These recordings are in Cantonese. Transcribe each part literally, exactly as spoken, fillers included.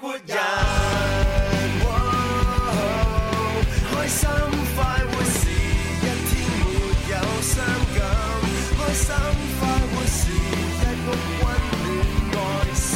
活人，開心快活是一天沒有傷感，開心快活是一屋溫暖愛心，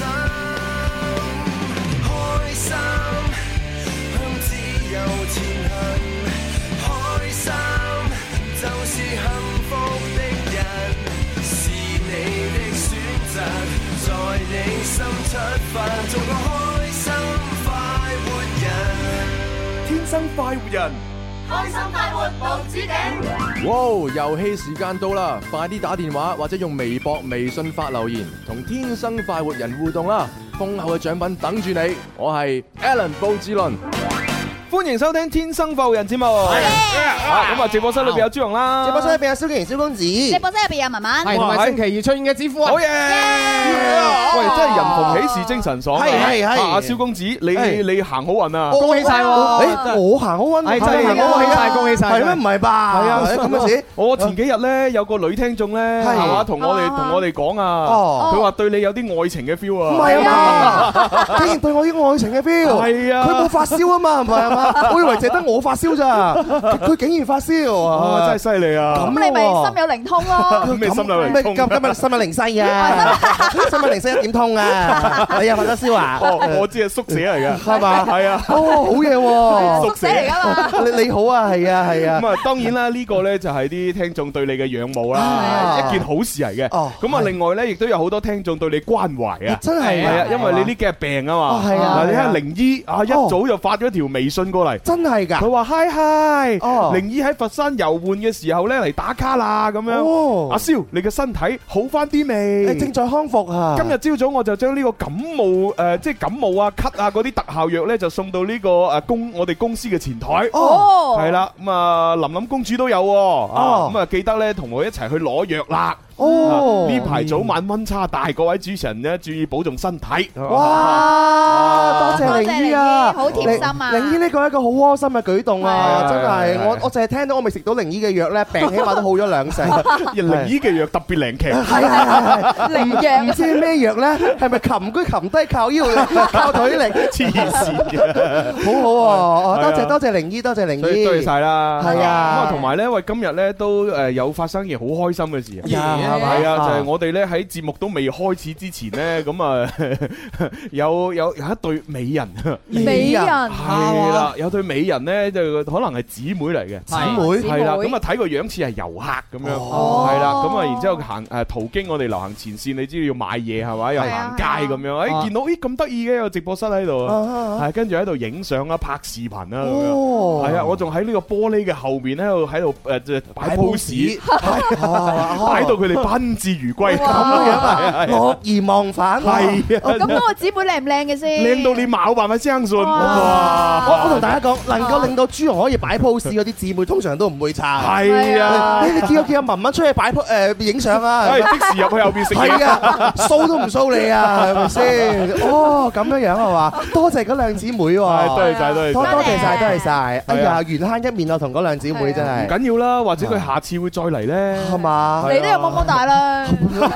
開心向自由前行，開心就是幸福的人，是你的選擇，在你心出發，做個開心快活人，天生快活人， 開心快活無止境。 哇！遊戲時間到啦，快啲打電話或者用微博、微信發留言，同天生快活人互動啦！豐厚嘅獎品等住你。我係 Alan 布志倫。歡迎收聽《天生快活人》節目。啊，咁啊，直播室裏邊有朱紅啦， 直播室裏邊有蕭敬堯、蕭公子， 直播室入邊有文文， 係同埋星期二出現嘅子夫啊！ 好嘢！喂，真係人逢喜事精神爽。 係係係。 阿蕭公子，你你行好運啊！ 恭喜晒喎！誒，我行好運，係真係恭喜晒，恭喜晒！係咩？唔係吧？係啊，咁嘅事。 我前幾日咧有個女聽眾咧，係嘛，同我哋同我哋講啊，佢話對你有啲愛情嘅 feel 啊！ 唔係啊嘛，竟然對我啲愛情嘅 feel。係啊，佢冇發燒啊嘛，唔係啊嘛。我以為淨係得我發燒咋，佢竟然發燒啊！ 真係犀利啊！ 咁你咪心有靈通咯？ 咩心有靈通？ 今今日心有靈犀啊！心有靈犀一點通啊！你又發咗燒啊？ 哦，我知係縮寫嚟嘅， 係嘛？ 係啊！ 哦，好嘢喎！ 縮寫嚟㗎嘛？ 你你好啊，係啊，係啊！ 咁啊，當然啦，呢個咧就係啲聽眾對你嘅仰慕啦，一件好事嚟嘅。咁啊，另外咧亦都有好多聽眾對你關懷啊！ 真係係啊，因為你呢幾日病啊嘛。 係啊！ 嗱，你睇下靈姨啊，一早就發咗條微信過嚟。 真係㗎！ 佢話嗨嗨，靈姨喺佛山遊玩嘅時候咧嚟打卡啦，咁樣。阿蕭，你嘅身體好翻啲未？ 正在康復啊！ 今日朝早我就將呢個感冒誒，即係感冒啊、咳啊嗰啲特效藥咧，就送到呢個誒公我哋公司嘅前台。 哦， 係啦，咁啊琳琳公主都有，啊咁啊記得咧同我一齊去攞藥啦。哦，呢排早晚溫差大，各位主持人咧注意保重身體。 哇，多謝靈姨啊， 好貼心啊！ 靈姨呢個係一個好窩心嘅舉動啊，真係我我淨係聽到我未食到靈姨嘅藥咧，病起碼都好咗兩成。 靈姨嘅藥特別靈奇， 係係係靈藥， 唔知咩藥咧？係咪擒居擒低靠腰力靠腿力？ 黐線嘅， 好好喎！多謝多謝靈姨，多謝靈姨， 多謝晒啦。 係啊， 咁啊同埋咧，喂，今日咧都誒有發生件好開心嘅事啊！係啊，就係我哋咧喺節目都未開始之前咧，咁啊有有有一對美人， 美人係啦，有對美人咧就可能係姊妹嚟嘅， 姊妹係啦，咁啊睇個樣似係遊客咁樣，係啦，咁啊然之後行誒途經我哋流行前線，你知道要買嘢係嘛，又行街咁樣，誒見到咦咁得意嘅有直播室喺度，係跟住喺度影相啊、拍視頻啊咁樣，係啊，我仲喺呢個玻璃嘅後面喺度喺度誒即係擺 pose，擺到佢哋賓至如歸咁樣啊， 樂而忘返。 係啊， 咁嗰個姊妹靚唔靚嘅先？ 靚到你冇辦法相信。 我我同大家講，能夠令到朱紅可以擺 pose 嗰啲姊妹，通常都唔會差。 係啊， 你你叫叫阿文文出去擺 pose 誒影相啊， 即時入去後邊食嘢。 係啊，騷都唔騷你啊，係咪先？哦，咁樣樣係嘛？多謝嗰兩姊妹喎， 多謝曬，多謝， 多多謝曬，多謝曬。哎呀，緣慳一面啊，同嗰兩姊妹真係。 唔緊要啦，或者佢下次會再嚟咧，係嘛？ 你都有麼麼大啦，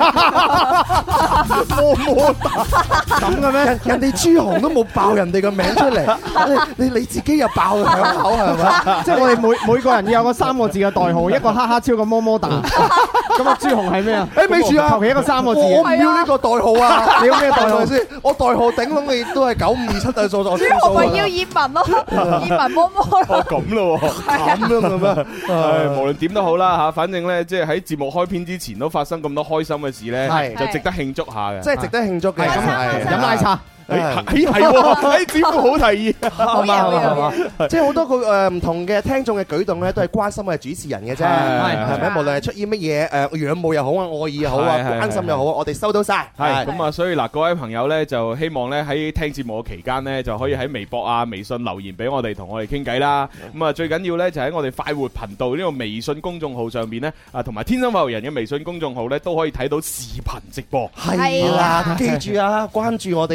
麼麼大咁嘅咩？人哋朱紅都冇爆人哋個名出嚟，你你自己又爆響口係咪？ 即係我哋每每個人要有個三個字嘅代號，一個哈哈超個麼麼噠。咁啊，朱紅係咩啊？ 誒，咪住啊！ 求其一個三個字。 我唔要呢個代號啊！ 你要咩代號先？我代號頂籠你都係九五二七嘅數數。 朱紅咪要葉文咯，葉文麼麼咯。 哦，咁咯， 咁樣嘅咩？ 誒，無論點都好啦嚇，反正咧，即係喺節目開篇之前都發生咁多開心嘅事咧，就值得慶祝下嘅。 即係值得慶祝嘅， 飲奶茶。 誒係喎，誒子富好提議， 係嘛係嘛，即係好多個誒唔同嘅聽眾嘅舉動咧，都係關心我哋主持人嘅啫，係咪？無論係出於乜嘢誒仰慕又好啊，愛意又好啊，關心又好，我哋收到晒。 係咁啊，所以嗱，各位朋友咧，就希望咧喺聽節目嘅期間咧，就可以喺微博啊、微信留言俾我哋，同我哋傾偈啦。咁啊，最緊要咧就喺我哋快活頻道呢個微信公眾號上邊咧，啊同埋天生快活人嘅微信公眾號咧，都可以睇到視頻直播。 係啦，記住啊，關注我哋嘅天生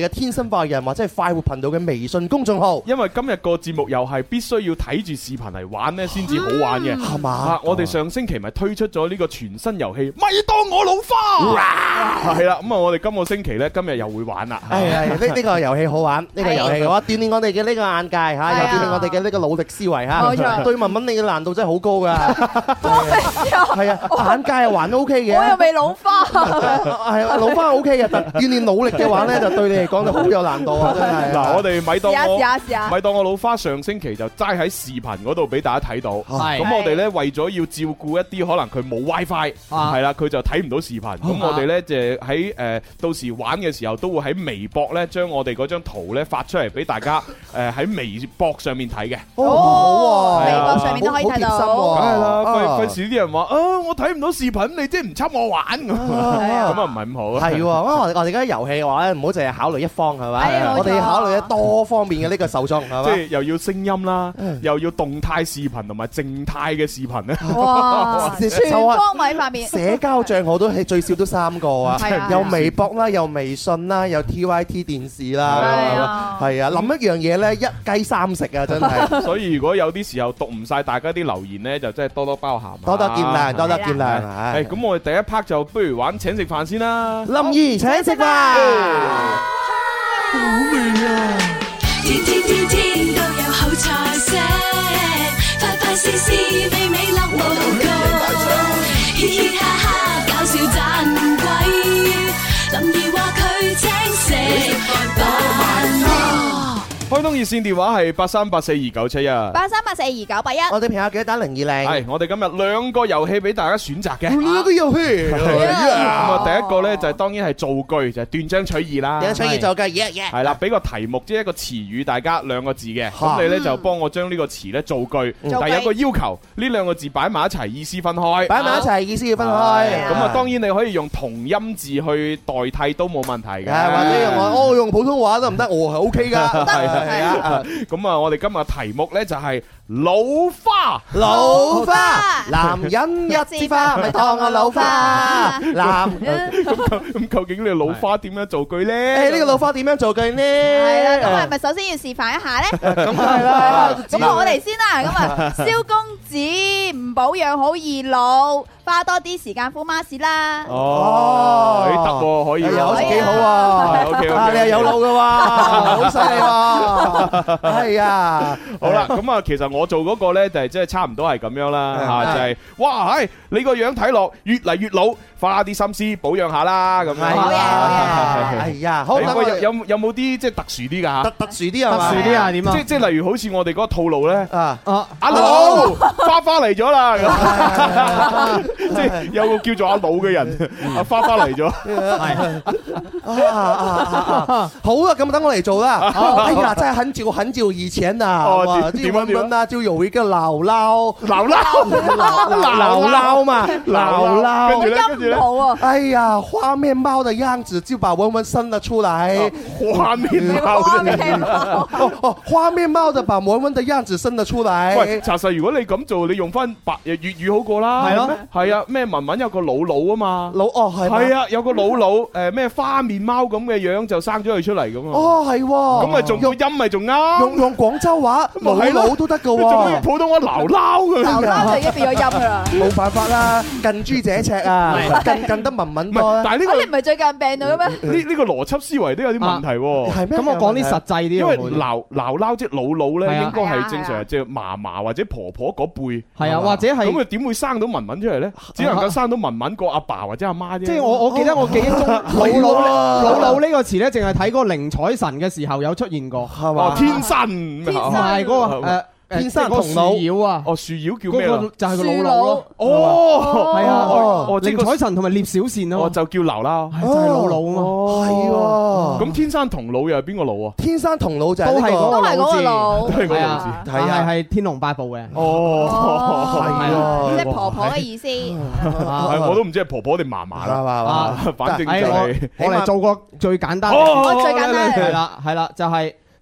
生化人或者係快活頻道嘅微信公眾號。 因為今日個節目又係必須要睇住視頻嚟玩咧，先至好玩嘅， 係嘛？ 啊，我哋上星期咪推出咗呢個全新遊戲，咪當我老花，係啦，咁啊，我哋今個星期咧，今日又會玩啦。 係係，呢呢個遊戲好玩，呢個遊戲嘅話鍛鍊我哋嘅呢個眼界嚇，又鍛鍊我哋嘅呢個努力思維嚇。 冇錯， 對文文你嘅難度真係好高㗎。係啊，眼界又還 OK 嘅。 我又未老花。 係啊，老花 OK 嘅，但鍛鍊努力嘅話咧，就對你嚟講就好有難度啊！真係。 嗱，我哋咪當我試下試下咪當我老花上星期就齋喺視頻嗰度俾大家睇到。 係咁我哋咧為咗要照顧一啲可能佢冇 WiFi，係啦，佢就睇唔到視頻。咁我哋咧就喺誒到時玩嘅時候都會喺微博咧將我哋嗰張圖咧發出嚟俾大家誒喺微博上面睇嘅。 哦，微博上面都可以睇到。 梗係啦，費費事啲人話啊，我睇唔到視頻，你即係唔插我玩咁，咁啊唔係咁好。 係喎，我哋我哋而家遊戲嘅話咧，唔好淨係考慮一方係咪？我哋要考慮多方面嘅呢個受眾係咪？ 即係又要聲音啦，又要動態視頻同埋靜態嘅視頻咧。 哇！全方位方面， 社交帳號都係最少都三個啊，有微博啦，有微信啦，有 T Y T 電視啦，係啊，諗一樣嘢咧，一雞三食啊，真係。所以如果有啲時候讀唔晒大家啲留言咧，就真係多多包涵， 多多見諒，多多見諒。 係咁，我哋第一 part 就不如玩請食飯先啦。 林怡請食飯，好味啊！ 天天天天都有好菜色，快快試試美美樂無窮，嘻嘻哈哈搞笑盞鬼，林怡話佢請食飯。 開通熱線電話係八三八四二九七一， 八三八四二九八一。 我哋朋友記得打零二零。 係，我哋今日兩個遊戲俾大家選擇嘅。 兩個遊戲。 咁啊，第一個咧就係當然係造句，就係斷章取義啦。 斷章取義造句，耶耶。 係啦，俾個題目，即係一個詞語，大家兩個字嘅。咁你咧就幫我將呢個詞咧造句，但係有個要求，呢兩個字擺埋一齊，意思分開。 擺埋一齊，意思要分開。 咁啊，當然你可以用同音字去代替都冇問題嘅。 或者用我，我用普通話得唔得？我係 OK 噶。係啊。咁啊，我哋今日題目咧就係老花， 老花，男人一枝花，咪當我老花。男咁咁究竟呢個老花點樣造句咧？ 誒，呢個老花點樣造句呢？ 係啦，咁係咪首先要示範一下咧？ 咁係啦。 咁我哋先啦。咁啊，蕭公子唔保養好易老，花多啲時間敷 mask 啦。 哦，得喎，可以， 好似幾好喎。 OK OK， 你係有腦嘅喎，好犀利喎。係啊， 好啦，咁啊，其實我做嗰個咧就係即係差唔多係咁樣啦，嚇就係哇，係你個樣睇落越嚟越老，花啲心思保養下啦，咁樣。 好嘢，好嘢。 係呀，好。 有有有冇啲即係特殊啲㗎嚇？ 特特殊啲啊嘛？ 特殊啲啊？點啊？ 即即係例如好似我哋嗰個套路咧， 啊啊阿老花花嚟咗啦，即係有個叫做阿老嘅人，阿花花嚟咗。 係啊啊啊！好啊，咁等我嚟做啦。哎呀，真係很久很久以前啊，哇！啲文文啊，就有一個姥姥， 姥姥， 姥姥嘛，姥姥。 跟住咧，跟住咧， 哎呀，花面貓的樣子就把文文生了出來。 花面貓， 哦哦，花面貓的把文文的樣子生了出來。 喂，查實如果你咁做，你用翻白粵語好過啦。係咯，係啊，咩文文有個老佬啊嘛， 老哦係， 係啊，有個老佬，誒咩花面貓咁嘅樣就生咗佢出嚟咁啊。 哦係，咁咪仲個音咪仲啱， 用用廣州話老佬都得噶喎， 仲用普通話撈撈咁樣， 撈撈就已經變咗音噶啦。 冇辦法啦，近朱者赤啊，近近得文文多。 但係呢個你唔係最近病到嘅咩？ 呢呢個邏輯思維都有啲問題喎。 係咩？ 咁我講啲實際啲， 因為撈撈撈即係老佬咧，應該係正常即係嫲嫲或者婆婆嗰輩。 係啊，或者係咁啊，點會生到文文出嚟咧？只能夠生到文文個阿爸或者阿媽啫。 即係我我記得我記憶中老佬老佬呢個詞咧，淨係睇嗰個寧采臣嘅時候有出現過， 係嘛？ 天生， 唔係嗰個誒。天生同老妖啊！ 哦，樹妖叫咩啊？ 就係個老佬咯。 哦， 係啊， 哦， 寧采臣同埋聶小倩啊， 哦，就叫劉啦， 就係老佬啊嘛。 係喎。 咁天生同老又係邊個老啊？ 天生同老就係都係嗰個老字， 都係嗰個老字， 係啊，係天龍八部嘅。 哦， 係啊，即係婆婆嘅意思。 我都唔知係婆婆定嫲嫲啦，反正就係我嚟做個最簡單。 最簡單係啦，係啦，就係。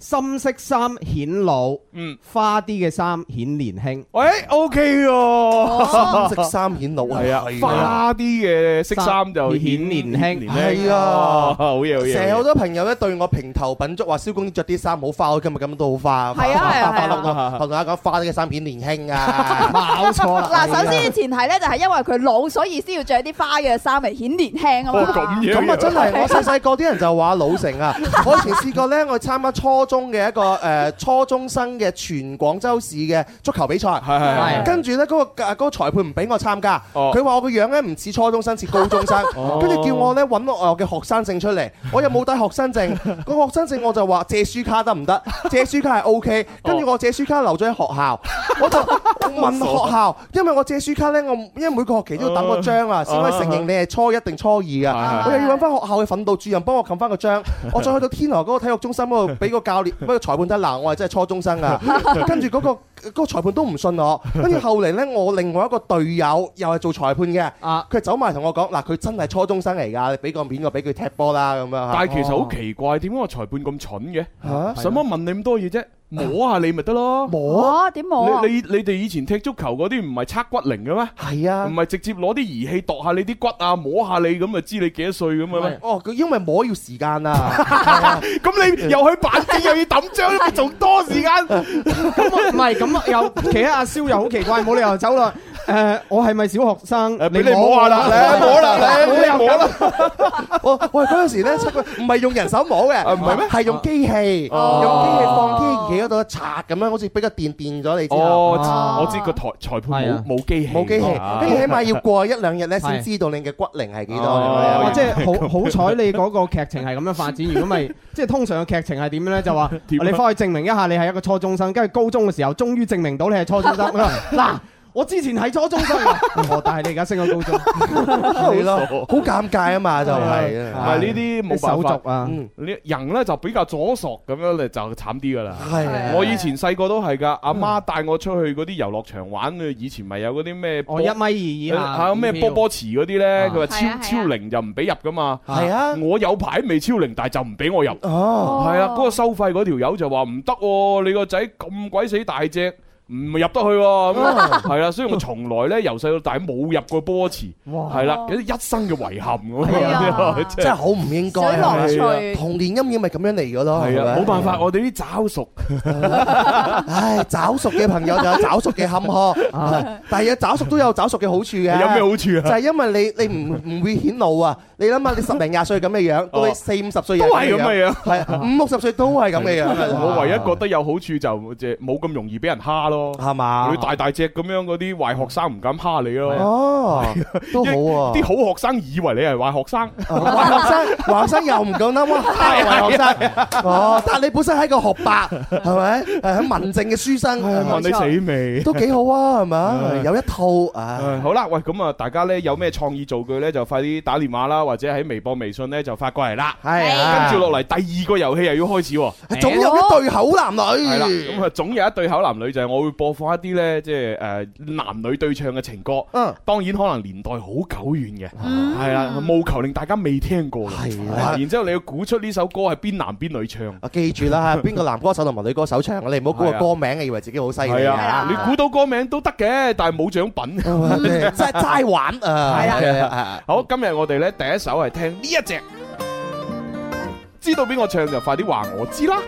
深色衫顯老， 嗯， 花啲嘅衫顯年輕。 喂，O K 喎， 深色衫顯老係啊，花啲嘅色衫就顯年輕， 係啊， 好嘢好嘢。 成日好多朋友咧對我評頭品足，話蕭公子着啲衫好花，我今日咁都好花。 係啊係啊係啊，同大家講花啲嘅衫顯年輕啊， 冇錯啦。 嗱，首先前提咧就係因為佢老，所以先要着啲花嘅衫嚟顯年輕啊嘛。 咁樣咁啊真係，我細細個啲人就話老成啊。我以前試過咧，我參加初中嘅一個誒初中生嘅全廣州市嘅足球比賽， 係係係。 跟住咧嗰個嗰個裁判唔俾我參加，佢話我個樣咧唔似初中生，似高中生，跟住叫我咧揾我嘅學生證出嚟，我又冇帶學生證，個學生證我就話借書卡得唔得？借書卡係 O K，跟住我借書卡留咗喺學校，我就問學校，因為我借書卡咧，我因為每個學期都要等個章啊，先可以承認你係初一定初二啊，我又要揾翻學校嘅訓導主任幫我冚翻個章，我再去到天河嗰個體育中心嗰度俾個教練，俾個裁判睇，嗱，我係真係初中生啊，跟住嗰個嗰個裁判都唔信我，跟住後嚟咧，我另外一個隊友又係做裁判嘅，佢走埋同我講，嗱，佢真係初中生嚟㗎，你俾個面我俾佢踢波啦咁樣。 但係其實好奇怪，點解個裁判咁蠢嘅？嚇，使乜問你咁多嘢啫？摸下你咪得咯， 摸點摸啊？ 你你你哋以前踢足球嗰啲唔係測骨齡嘅咩？ 係啊， 唔係直接攞啲儀器度下你啲骨啊，摸下你咁就知你幾多歲咁嘅咩？ 哦，佢因為摸要時間啊， 咁你又去辦證又要抌章，咪仲多時間？ 咁唔係咁又企喺阿蕭又好奇怪，冇理由走啦。誒，我係咪小學生？ 俾你摸下啦，你摸啦，你冇理由摸啦。 我喂嗰陣時咧，唔係用人手摸嘅， 唔係咩？ 係用機器，用機器放機器嗰度一擦咁樣，好似俾個電電咗你之後。 哦，我知個裁裁判冇冇機器， 冇機器，跟住起碼要過一兩日咧先知道你嘅骨齡係幾多。 哇！即係好好彩你嗰個劇情係咁樣發展，如果咪即係通常嘅劇情係點樣咧？就話你翻去證明一下你係一個初中生，跟住高中嘅時候終於證明到你係初中生。嗱。我之前係初中生，哦，但係你而家升咗高中， 係咯，好尷尬啊嘛，就係， 唔係呢啲冇手續啊， 呢人咧就比較左索咁樣咧就慘啲噶啦。 係， 我以前細個都係噶，阿媽帶我出去嗰啲遊樂場玩，以前咪有嗰啲咩， 哦一米二以下， 嚇咩波波池嗰啲咧，佢話超超齡就唔俾入噶嘛。 係啊， 我有排未超齡，但係就唔俾我入。 哦， 係啊，嗰個收費嗰條友就話唔得喎，你個仔咁鬼死大隻。唔入得去喎，係啦，所以我從來咧由細到大冇入過波池，係啦，有啲一生嘅遺憾咁， 真係好唔應該。 樂趣童年陰影咪咁樣嚟嘅咯， 係啊，冇辦法，我哋啲找熟， 唉，找熟嘅朋友就有找熟嘅坎坷，但係找熟都有找熟嘅好處嘅。 有咩好處啊？ 就係因為你你唔唔會顯老啊！你諗下，你十零廿歲咁嘅樣，到你四五十歲都係咁嘅樣， 係五六十歲都係咁嘅樣。 我唯一覺得有好處就即係冇咁容易俾人蝦咯。 係嘛？ 你大大隻咁樣嗰啲壞學生唔敢蝦你咯。 哦，都好喎。 啲好學生以為你係壞學生， 壞學生，壞學生又唔夠膽蝦壞學生。哦，但係你本身係個學霸，係咪？誒，喺文靜嘅書生， 問你死未？ 都幾好啊，係咪？有一套啊。 好啦，喂，咁啊，大家咧有咩創意造句咧，就快啲打電話啦，或者喺微博、微信咧就發過嚟啦。 係。 跟住落嚟第二個遊戲又要開始喎。 總有一對口男女。 係啦，咁啊總有一對口男女就係我會播放一啲咧，即係誒男女對唱嘅情歌。嗯，當然可能年代好久遠嘅，係啦，務求令大家未聽過嘅。係啦，然之後你要估出呢首歌係邊男邊女唱。 啊，記住啦，邊個男歌手同埋女歌手唱，你唔好估個歌名，以為自己好犀利。 係啊，你估到歌名都得嘅，但係冇獎品， 真係齋玩啊！ 係啊，好，今日我哋咧第一首係聽呢一隻，知道邊個唱就快啲話我知啦。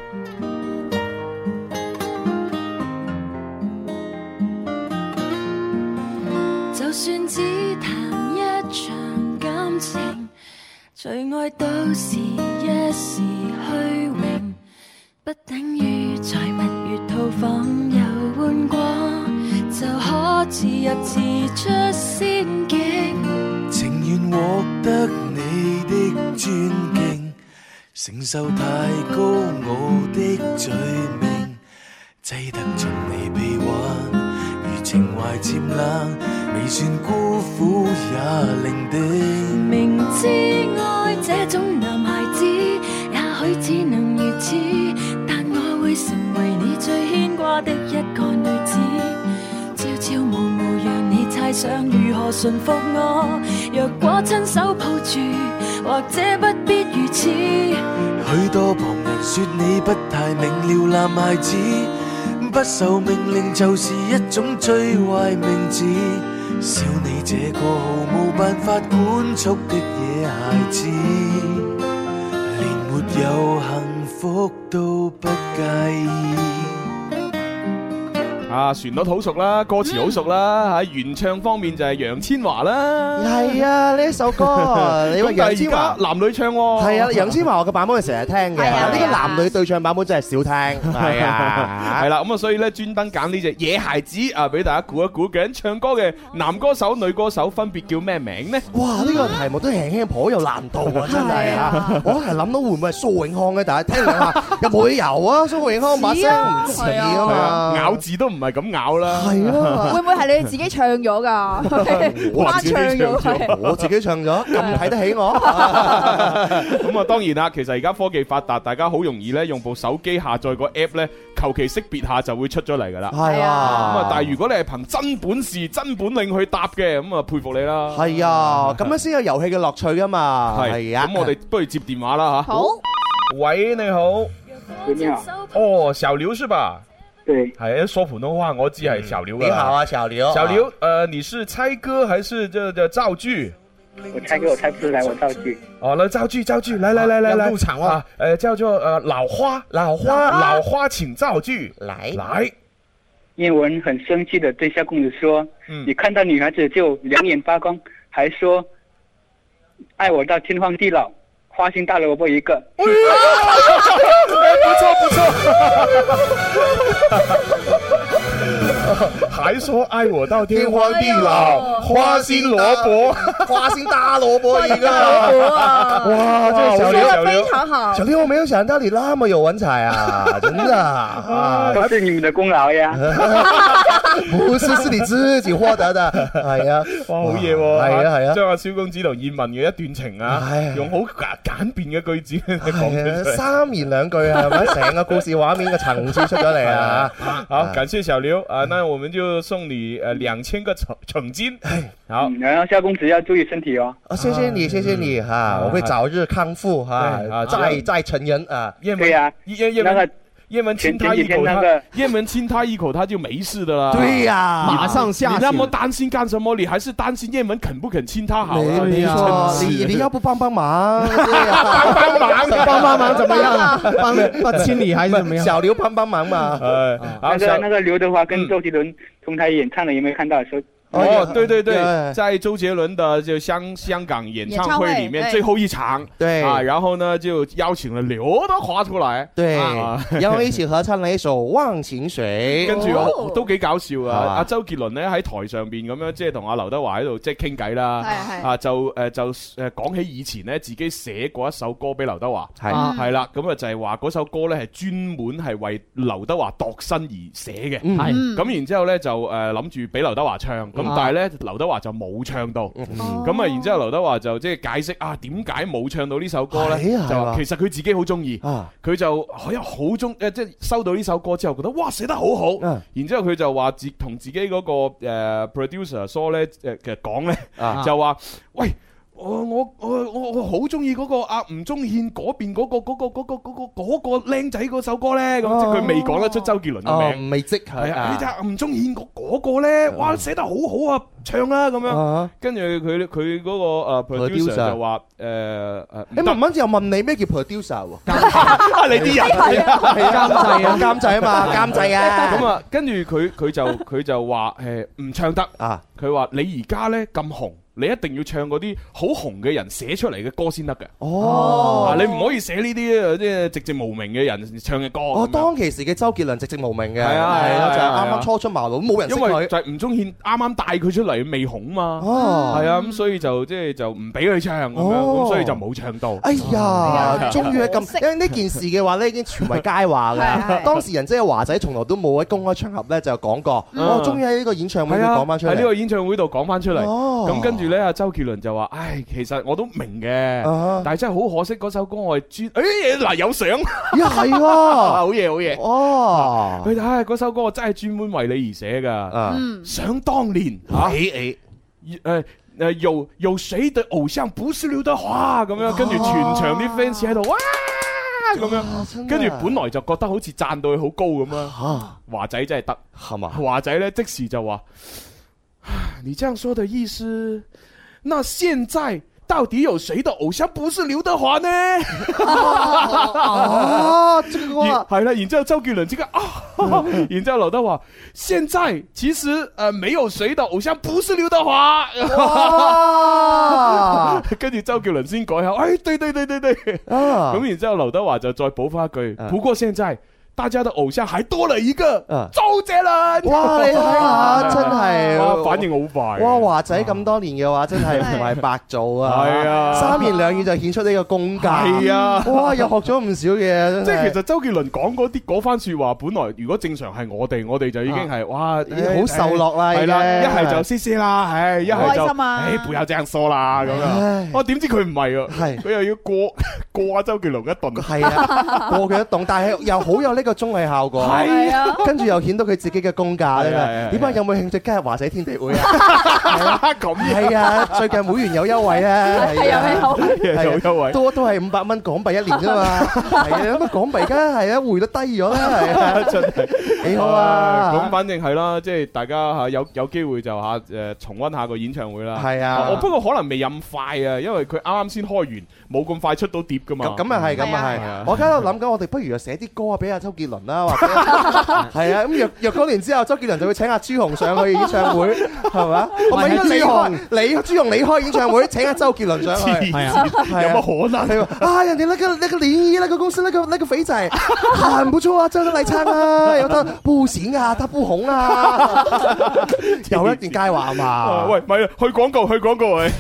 就算只談一場感情，最愛都是一時虛榮，不等於在蜜月套房遊玩過就可自入自出仙境， 情願獲得你的尊敬，承受太高傲的罪名，擠得進你臂彎，如情懷漸冷，未算孤苦也伶仃。 明知愛這種男孩子，也許只能如此，但我會成為你最牽掛的一個女子。朝朝暮暮讓你猜想如何馴服我，若果親手抱住，或者不必如此。 許多旁人說你不太明了，男孩子不受命令就是一種最壞名字。笑你這個毫無辦法管束的野孩子，連沒有幸福都不介意。 啊，旋律好熟啦，歌詞好熟啦，喺原唱方面就係楊千嬅啦。 係啊，呢一首歌，你話楊千嬅男女唱喎。 係啊，楊千嬅我嘅版本係成日聽嘅，呢個男女對唱版本真係少聽。係啊， 係啦，咁啊，所以咧專登揀呢隻野孩子啊，俾大家估一估，究竟唱歌嘅男歌手、女歌手分別叫咩名呢？ 哇，呢個題目都輕輕頗有難度啊，真係啊！我係諗到會唔會係蘇永康嘅，大家聽兩下，有冇理由啊？蘇永康把聲唔似啊嘛， 咬字都唔係咁咬啦。 係啊， 會唔會係你自己唱咗㗎？ 我自己唱咗，我自己唱咗，咁睇得起我。 咁啊，當然啦，其實而家科技發達，大家好容易咧用部手機下載個 app 咧，求其識別下就會出咗嚟㗎啦。 係啊， 咁啊，但係如果你係憑真本事、真本領去答嘅，咁啊佩服你啦。 係啊，咁樣先有遊戲嘅樂趣㗎嘛。係啊， 咁我哋不如接電話啦嚇。 好， 喂，你好。 喂，你好。 哦，小劉是吧？ 對， 係說普通話，我知係小劉。 你好啊，小劉。 小劉，呃，你是猜歌還是這這造句？ 我猜歌我猜不出來，我造句。 哦，那造句造句，來來來來來，入場啊！呃，叫做呃老花，老花，老花，請造句。來來。 葉文很生氣的對蕭公子說： 嗯， 你看到女孩子就兩眼發光，還說愛我到天荒地老。花心大蘿蔔一個， 不錯不錯，還說愛我到天荒地老，花心蘿蔔， 花心大蘿蔔一個，哇，這個小劉小劉非常好， 小劉我沒有想到你那麼有文采啊，真的啊， 都是你們的功勞呀， 不是，是你自己獲得的，係啊， 哇，好嘢喎， 係啊係啊， 將阿蕭公子同葉問嘅一段情啊，用好簡便嘅句子講出嚟， 三言兩句係咪？成個故事畫面嘅層次出咗嚟啊！ 好，感謝小劉啊，那我們就送你誒兩千個橙橙金。好， 然後蕭公子要注意身體哦。 啊，謝謝你，謝謝你哈，我會早日康復哈，再再成人啊！ 對呀， 葉葉文。葉文親他一口，他葉文親他一口，他就沒事的啦。 對呀， 馬上下。 你那麼擔心幹什麼？你還是擔心葉文肯不肯親他好。 沒錯，你你要不幫幫忙？ 幫幫忙， 幫幫忙，怎麼樣？幫幫親你還是怎麼樣？ 小劉幫幫忙嘛。 呃，那個那個劉德華跟周杰倫同台演唱的，有沒有看到？說。 哦，對對對，在周杰倫的就香香港演唱會裏面最後一場， 對啊，然後呢就邀請了劉德華出來， 對，然後一起合唱了一首《忘情水》， 跟住我都幾搞笑啊！阿周杰倫咧喺台上邊咁樣，即係同阿劉德華喺度即係傾偈啦，啊就誒就誒講起以前咧自己寫過一首歌俾劉德華，係係啦，咁啊就係話嗰首歌咧係專門係為劉德華度身而寫嘅，係咁然之後咧就誒諗住俾劉德華唱。咁但係咧，劉德華就冇唱到，咁啊，然之後劉德華就即係解釋啊，點解冇唱到呢首歌咧？就話其實佢自己好中意，佢就好好中誒，即係收到呢首歌之後，覺得哇寫得好好，然之後佢就話自同自己嗰個誒 producer 疏咧誒其實講咧，就話喂。我我我我我好中意嗰個阿吳宗憲嗰邊嗰個嗰個嗰個嗰個嗰個僆仔嗰首歌咧，咁即係佢未講得出周杰倫嘅名， 未即係啊！你睇下吳宗憲嗰嗰個咧，哇寫得好好啊，唱啦咁樣。跟住佢佢嗰個誒 producer 就話誒誒， 你慢慢又問你咩叫 producer 喎？ 你啲人係啊監製啊監製啊嘛監製啊。 咁啊，跟住佢佢就佢就話誒唔唱得啊！佢話你而家咧咁紅。你一定要唱嗰啲好紅嘅人寫出嚟嘅歌先得嘅。哦，你唔可以寫呢啲即係寂寂無名嘅人唱嘅歌。 哦，當其時嘅周杰倫寂寂無名嘅， 係啊， 係啊，就係啱啱初出茅廬，冇人識佢。 因為就係吳宗憲啱啱帶佢出嚟未紅嘛。哦，係啊，咁所以就即係就唔俾佢唱咁樣，咁所以就冇唱到。 哎呀，終於係咁，因為呢件事嘅話咧已經傳為佳話㗎。當事人即係華仔，從來都冇喺公開場合咧就講過。我終於喺呢個演唱會度講翻出嚟。喺呢個演唱會度講翻出嚟。哦，咁跟住咧，阿周杰倫就話：唉，其實我都明嘅，但係真係好可惜嗰首歌我係專，誒嗱有相， 呀係喎， 好嘢好嘢， 哦， 佢睇嗰首歌我真係專門為你而寫噶，想當年嚇，誒誒誒有有誰的偶像不是劉德華咁樣，跟住全場啲 fans 喺度哇！ 咁樣，跟住本來就覺得好似讚到佢好高咁啊。華仔真係得係嘛？華仔咧即時就話：你這樣說的意思，那現在到底有誰的偶像不是劉德華呢？ 哦，這個係啦，然之後周杰倫即刻啊，然之後劉德華，現在其實誒沒有誰的偶像不是劉德華。跟住周杰倫先改下，哎，對對對對對，咁然之後劉德華就再補翻一句，不過現在大家的偶像還多了一個周杰倫。 哇，你睇下，真係反應好快。 哇，華仔咁多年嘅話，真係唔係白做啊！係啊，三言兩語就顯出呢個功架。係啊，哇，又學咗唔少嘢。 即係其實周杰倫講嗰啲嗰番説話，本來如果正常係我哋，我哋就已經係哇， 好受落啦。係啦，一係就嘻嘻啦，唉，一係就開心啊， 唉，不要這樣說啦咁樣。哇，點知佢唔係啊？係佢又要過過阿周杰倫一頓。係啊，過佢一頓，但係又好有呢個綜藝效果。係啊，跟住又顯到佢自己嘅功架咧。點解有冇興趣加入華仔天地會啊？咁係啊，最近會員有優惠啊，係啊，有優惠，都都係五百蚊港幣一年啫嘛。係啊，咁啊港幣而家係啊匯率低咗啦，係啊，真係幾好啊。咁反正係啦，即係大家嚇有有機會就嚇誒重溫下個演唱會啦。係啊，我不過可能未咁快啊，因為佢啱啱先開完，冇咁快出到碟噶嘛。咁啊係，咁啊係。我而家喺度諗緊，我哋不如就寫啲歌啊俾阿周杰倫啦，或者係啊。咁若若干年之後，周杰倫就會請阿朱紅上去演唱會，係嘛？我咪應該你開，你朱紅你開演唱會，請阿周杰倫上去，係啊，有乜可能？啊，人哋那個那個聯誼那個公司那個那個肥仔，很不錯啊，真係嚟唱啊，有得不行啊，他不紅啊，有一段佳話嘛。喂，咪去廣告，去廣告喂。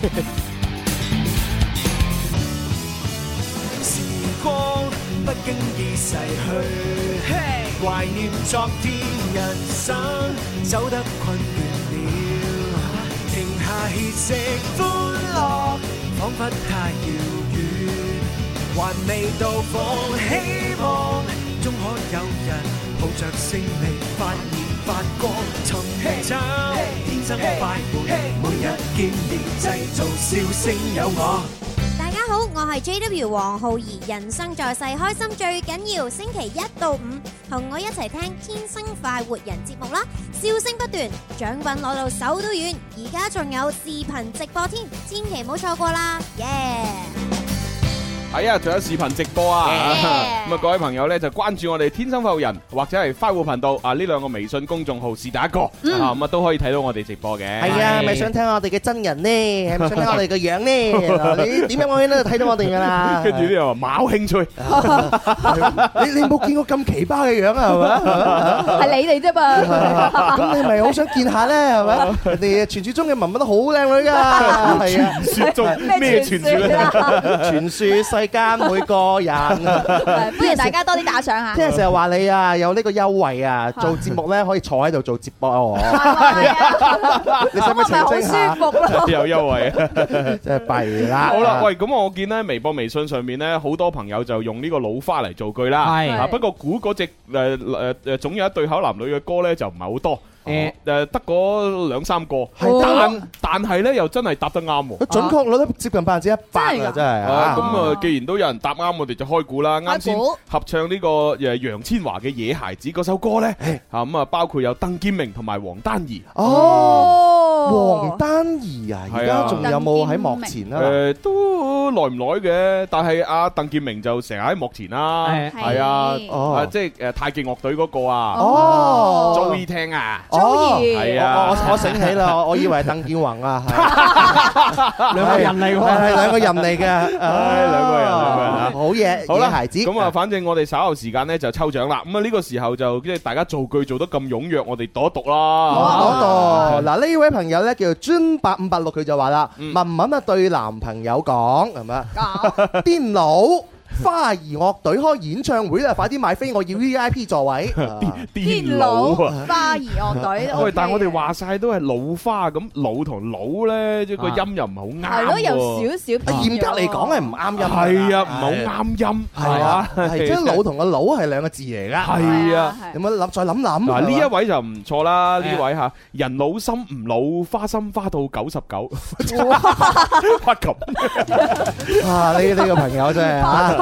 時光不經意逝去，懷念昨天，人生走得困倦了，停下歇息，歡樂彷彿太遙遠，還未到訪，希望終可有人抱着勝利發現發光，尋找天生快活，每日見面製造笑聲有我。 大家好，我係 J W 黃浩兒，人生在世開心最緊要，星期一到五同我一齊聽天生快活人節目啦，笑聲不斷，獎品攞到手都軟，而家仲有視頻直播添，千祈唔好錯過啦，耶、yeah!！ 係啊，仲有視頻直播啊！咁啊，各位朋友咧就關注我哋天生快活人或者係快活頻道啊，呢兩個微信公眾號是第一個啊，咁啊都可以睇到我哋直播嘅。係啊，咪想聽我哋嘅真人呢？係咪想聽我哋嘅樣呢？你點樣我喺度睇到我哋噶啦？跟住啲人話冇興趣，你你冇見過咁奇葩嘅樣啊？係咪？係你哋啫嘛？咁你咪好想見下咧？係咪？人哋傳說中嘅文文都好靚女噶，係啊！傳說中咩傳說啊？傳說。世間每個人，歡迎大家多啲打賞下。聽日成日話你啊，有呢個優惠啊，做節目咧可以坐喺度做直播哦。你使唔使澄清下？好舒服咯，有優惠啊，真係弊啦。好啦，喂，咁我見咧微博、微信上面咧好多朋友就用呢個老花嚟造句啦。係啊，不過估嗰隻誒誒誒總有一對口男女嘅歌咧就唔係好多。誒誒，得嗰兩三個，但但係咧又真係答得啱喎，準確率都接近百分之一百啊！真係啊！咁啊，既然都有人答啱，我哋就開估啦。啱先合唱呢個誒楊千嬅嘅《野孩子》嗰首歌咧，嚇咁啊，包括有鄧建明同埋黃丹儀。哦，黃丹儀啊，而家仲有冇喺幕前啊？誒，都耐唔耐嘅，但係阿鄧建明就成日喺幕前啦。係啊，啊即係誒太極樂隊嗰個啊。哦，中意聽啊！係啊！我我醒起啦，我以為鄧健泓啊，兩個人嚟喎，係兩個人嚟嘅，唉，兩個人，兩個人啊，好嘢，好啦，孩子。咁啊，反正我哋稍後時間咧就抽獎啦。咁啊，呢個時候就即係大家造句做得咁踴躍，我哋讀一讀啦。讀一讀。嗱，呢位朋友咧叫做尊八五八六，佢就話啦：文文啊對男朋友講係咪啊？癲佬！花兒樂隊開演唱會啦，快啲買飛，我要 V I P 座位。癲佬啊！花兒樂隊。喂，但係我哋話晒都係老花咁，老同老咧，即係個音又唔係好啱。係咯，有少少。嚴格嚟講係唔啱音。係啊，唔係好啱音。係啊，係即係老同個老係兩個字嚟噶。係啊，有冇諗再諗諗？嗱，呢一位就唔錯啦，呢位吓人老心唔老，花心花到九十九。哇！咁啊，呢呢個朋友真係吓。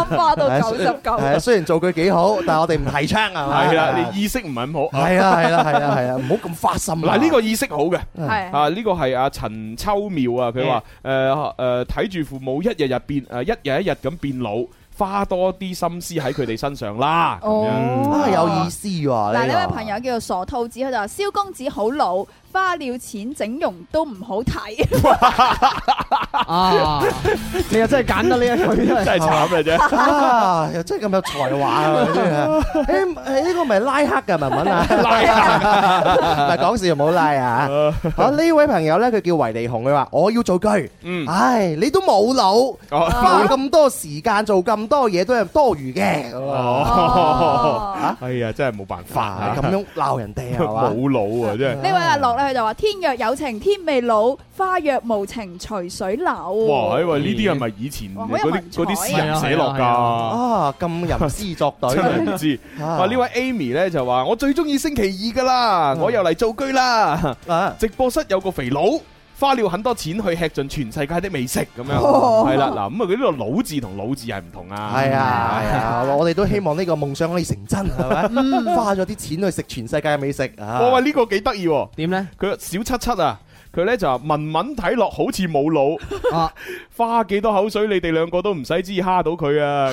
花到九十九。 係啊，雖然造句幾好，但係我哋唔提倡係咪？ 係啦，你意識唔係咁好。 係啊係啦係啦係啊，唔好咁花心。 嗱，呢個意識好嘅， 係啊呢個係阿陳秋妙啊，佢話誒誒睇住父母一日日變誒一日一日咁變老。花多啲心思喺佢哋身上啦，咁樣啊有意思喎。 嗱，呢位朋友叫做傻兔子，佢就話：蕭公子好老，花了錢整容都唔好睇。 啊！你又真係揀得呢一句，真係慘嘅啫。 啊，又真係咁有才華啊！真係。誒誒，呢個咪拉黑嘅文文啊？ 拉黑， 唔係講笑，唔好拉啊！好，呢位朋友咧，佢叫維尼紅，佢話：我要做句。嗯。唉，你都冇腦，花咁多時間做咁多嘢都係多餘嘅。 哦。哎呀，真係冇辦法， 咁樣鬧人哋係嘛？ 冇腦啊，真係。 呢位阿樂咧，佢就話：天若有情天未老，花若無情隨水流。 哇！因為呢啲係咪以前嗰啲嗰啲詩人寫落㗎？ 啊，咁吟詩作對， 真係唔知。哇！呢位 Amy 咧就話：我最中意星期二㗎啦，我又嚟造句啦。直播室有個肥佬。花了很多錢去吃盡全世界的美食咁樣，係啦嗱，咁啊佢呢個老字同老字係唔同啊。 係啊係啊，我哋都希望呢個夢想可以成真，係咪？花咗啲錢去食全世界嘅美食啊！ 哇，呢個幾得意喎？ 點咧？ 佢小七七啊！佢咧就話文文睇落好似冇腦，啊、花幾多口水你哋兩個都唔使知蝦到佢啊！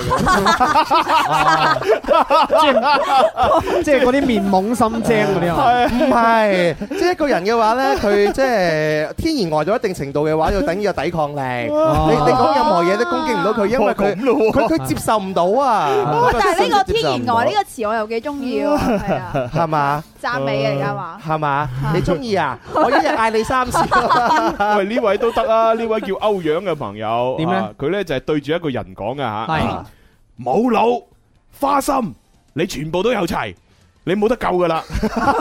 即係嗰啲面懵心精嗰啲啊？ 唔係，即係一個人嘅話咧，佢即係天然呆到一定程度嘅話，要等於有抵抗力。你你講任何嘢都攻擊唔到佢，因為佢佢佢接受唔到啊！ 但係呢個天然呆呢個詞我又幾中意喎，係啊， 係嘛？ 讚美嘅而家話係嘛？你中意啊？我一日嗌你三次。 喂，呢位都得啊！呢位叫歐陽嘅朋友， 點咧？ 佢咧就係對住一個人講嘅吓， 係冇腦花心，你全部都有齊。你冇得救噶啦，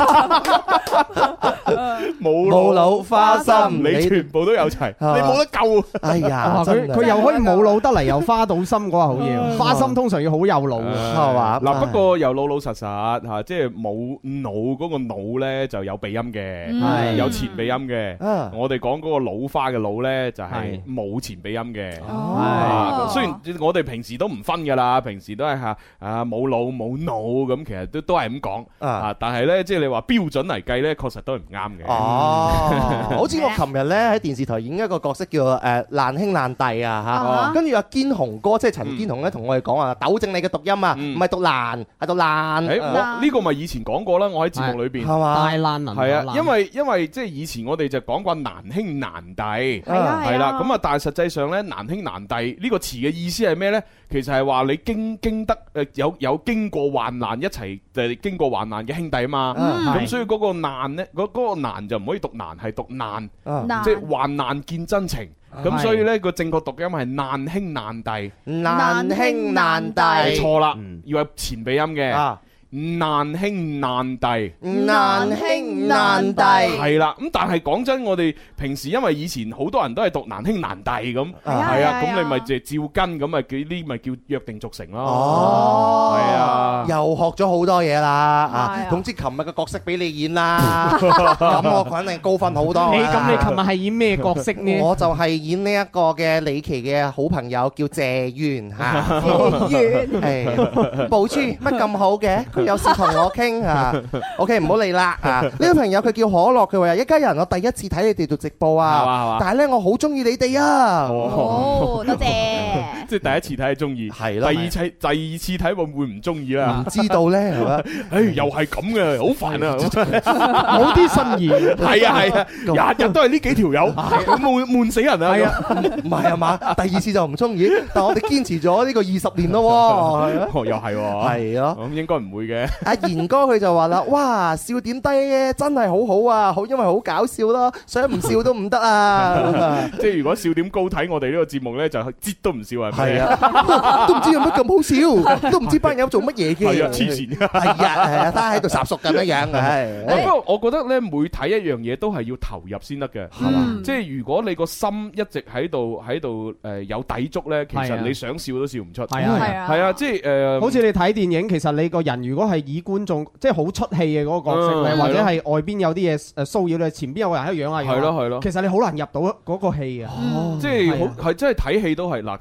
冇冇腦花心， 你全部都有齊，你冇得救。 哎呀， 佢佢又可以冇腦得嚟，又花到心嗰個好嘢。花心通常要好有腦嘅， 係嘛？ 嗱，不過又老老實實吓，即係冇腦嗰個腦咧就有鼻音嘅，有前鼻音嘅。我哋講嗰個老花嘅腦咧就係冇前鼻音嘅。雖然我哋平時都唔分噶啦，平時都係吓啊冇腦冇腦咁，其實都都係咁講。啊！但係咧，即係你話標準嚟計咧，確實都係唔啱嘅。 哦，好似我琴日咧喺電視台演一個角色叫誒爛兄爛弟啊嚇，跟住阿堅雄哥即係陳堅雄咧，同我哋講啊，糾正你嘅讀音啊，唔係讀爛，係讀爛。 誒，我呢個咪以前講過啦，我喺節目裏邊係嘛？ 大爛能係啊，因為因為即係以前我哋就講過難兄難弟係啊係啦，咁啊，但係實際上咧難兄難弟呢個詞嘅意思係咩咧？其實係話你經經得誒有有經過患難一齊誒經過患難嘅兄弟啊嘛，咁所以嗰個難咧，嗰嗰個難就唔可以讀難，係讀難，即係患難見真情。咁所以咧個正確讀音係難兄難弟， 難兄難弟錯啦，要係前鼻音嘅。難兄難弟， 難兄難弟係啦。咁但係講真，我哋平時因為以前好多人都係讀難兄難弟咁，係啊，咁你咪就照跟咁啊，呢啲咪叫約定俗成咯。 哦， 係啊， 又學咗好多嘢啦啊！總之琴日嘅角色俾你演啦，咁我肯定高分好多。 你咁你琴日係演咩角色呢？ 我就係演呢一個嘅李琦嘅好朋友叫謝淵嚇。 謝淵， 係寶珠乜咁好嘅？有事同我傾啊 ，OK 唔好理啦啊！呢個朋友佢叫可樂，佢話一家人我第一次睇你哋做直播啊，但係咧我好中意你哋啊！ 哦，多謝。 即係第一次睇係中意， 係咯。 第二次第二次睇會唔會唔中意啦？ 唔知道咧，係嘛？ 誒，又係咁嘅，好煩啊！ 冇啲新意， 係啊係啊，日日都係呢幾條友，咁悶悶死人啊！ 係啊，唔係啊嘛？第二次就唔中意，但係我哋堅持咗呢個二十年咯，係啊， 又係喎， 係咯， 咁應該唔會嘅。 阿賢哥佢就話啦，哇，笑點低嘅真係好好啊，好因為好搞笑咯，想唔笑都唔得啊！ 即係如果笑點高睇我哋呢個節目咧，就擠都唔笑係咪？ 係啊，都唔知有乜咁好笑，都唔知班友做乜嘢嘅。 係啊，黐線。 係啊，係啊，都喺度烚熟咁樣樣嘅。 不過我覺得咧，每睇一樣嘢都係要投入先得嘅，係嘛？即係如果你個心一直喺度喺度誒有抵觸咧，其實你想笑都笑唔出。 係啊係啊， 係啊，即係誒， 好似你睇電影，其實你個人如果係以觀眾即係好出戲嘅嗰個角色咧，或者係外邊有啲嘢誒騷擾你，前邊有個人喺度養下養， 係咯係咯。 其實你好難入到嗰個戲啊。 即係好係，即係睇戲都係嗱，睇搞笑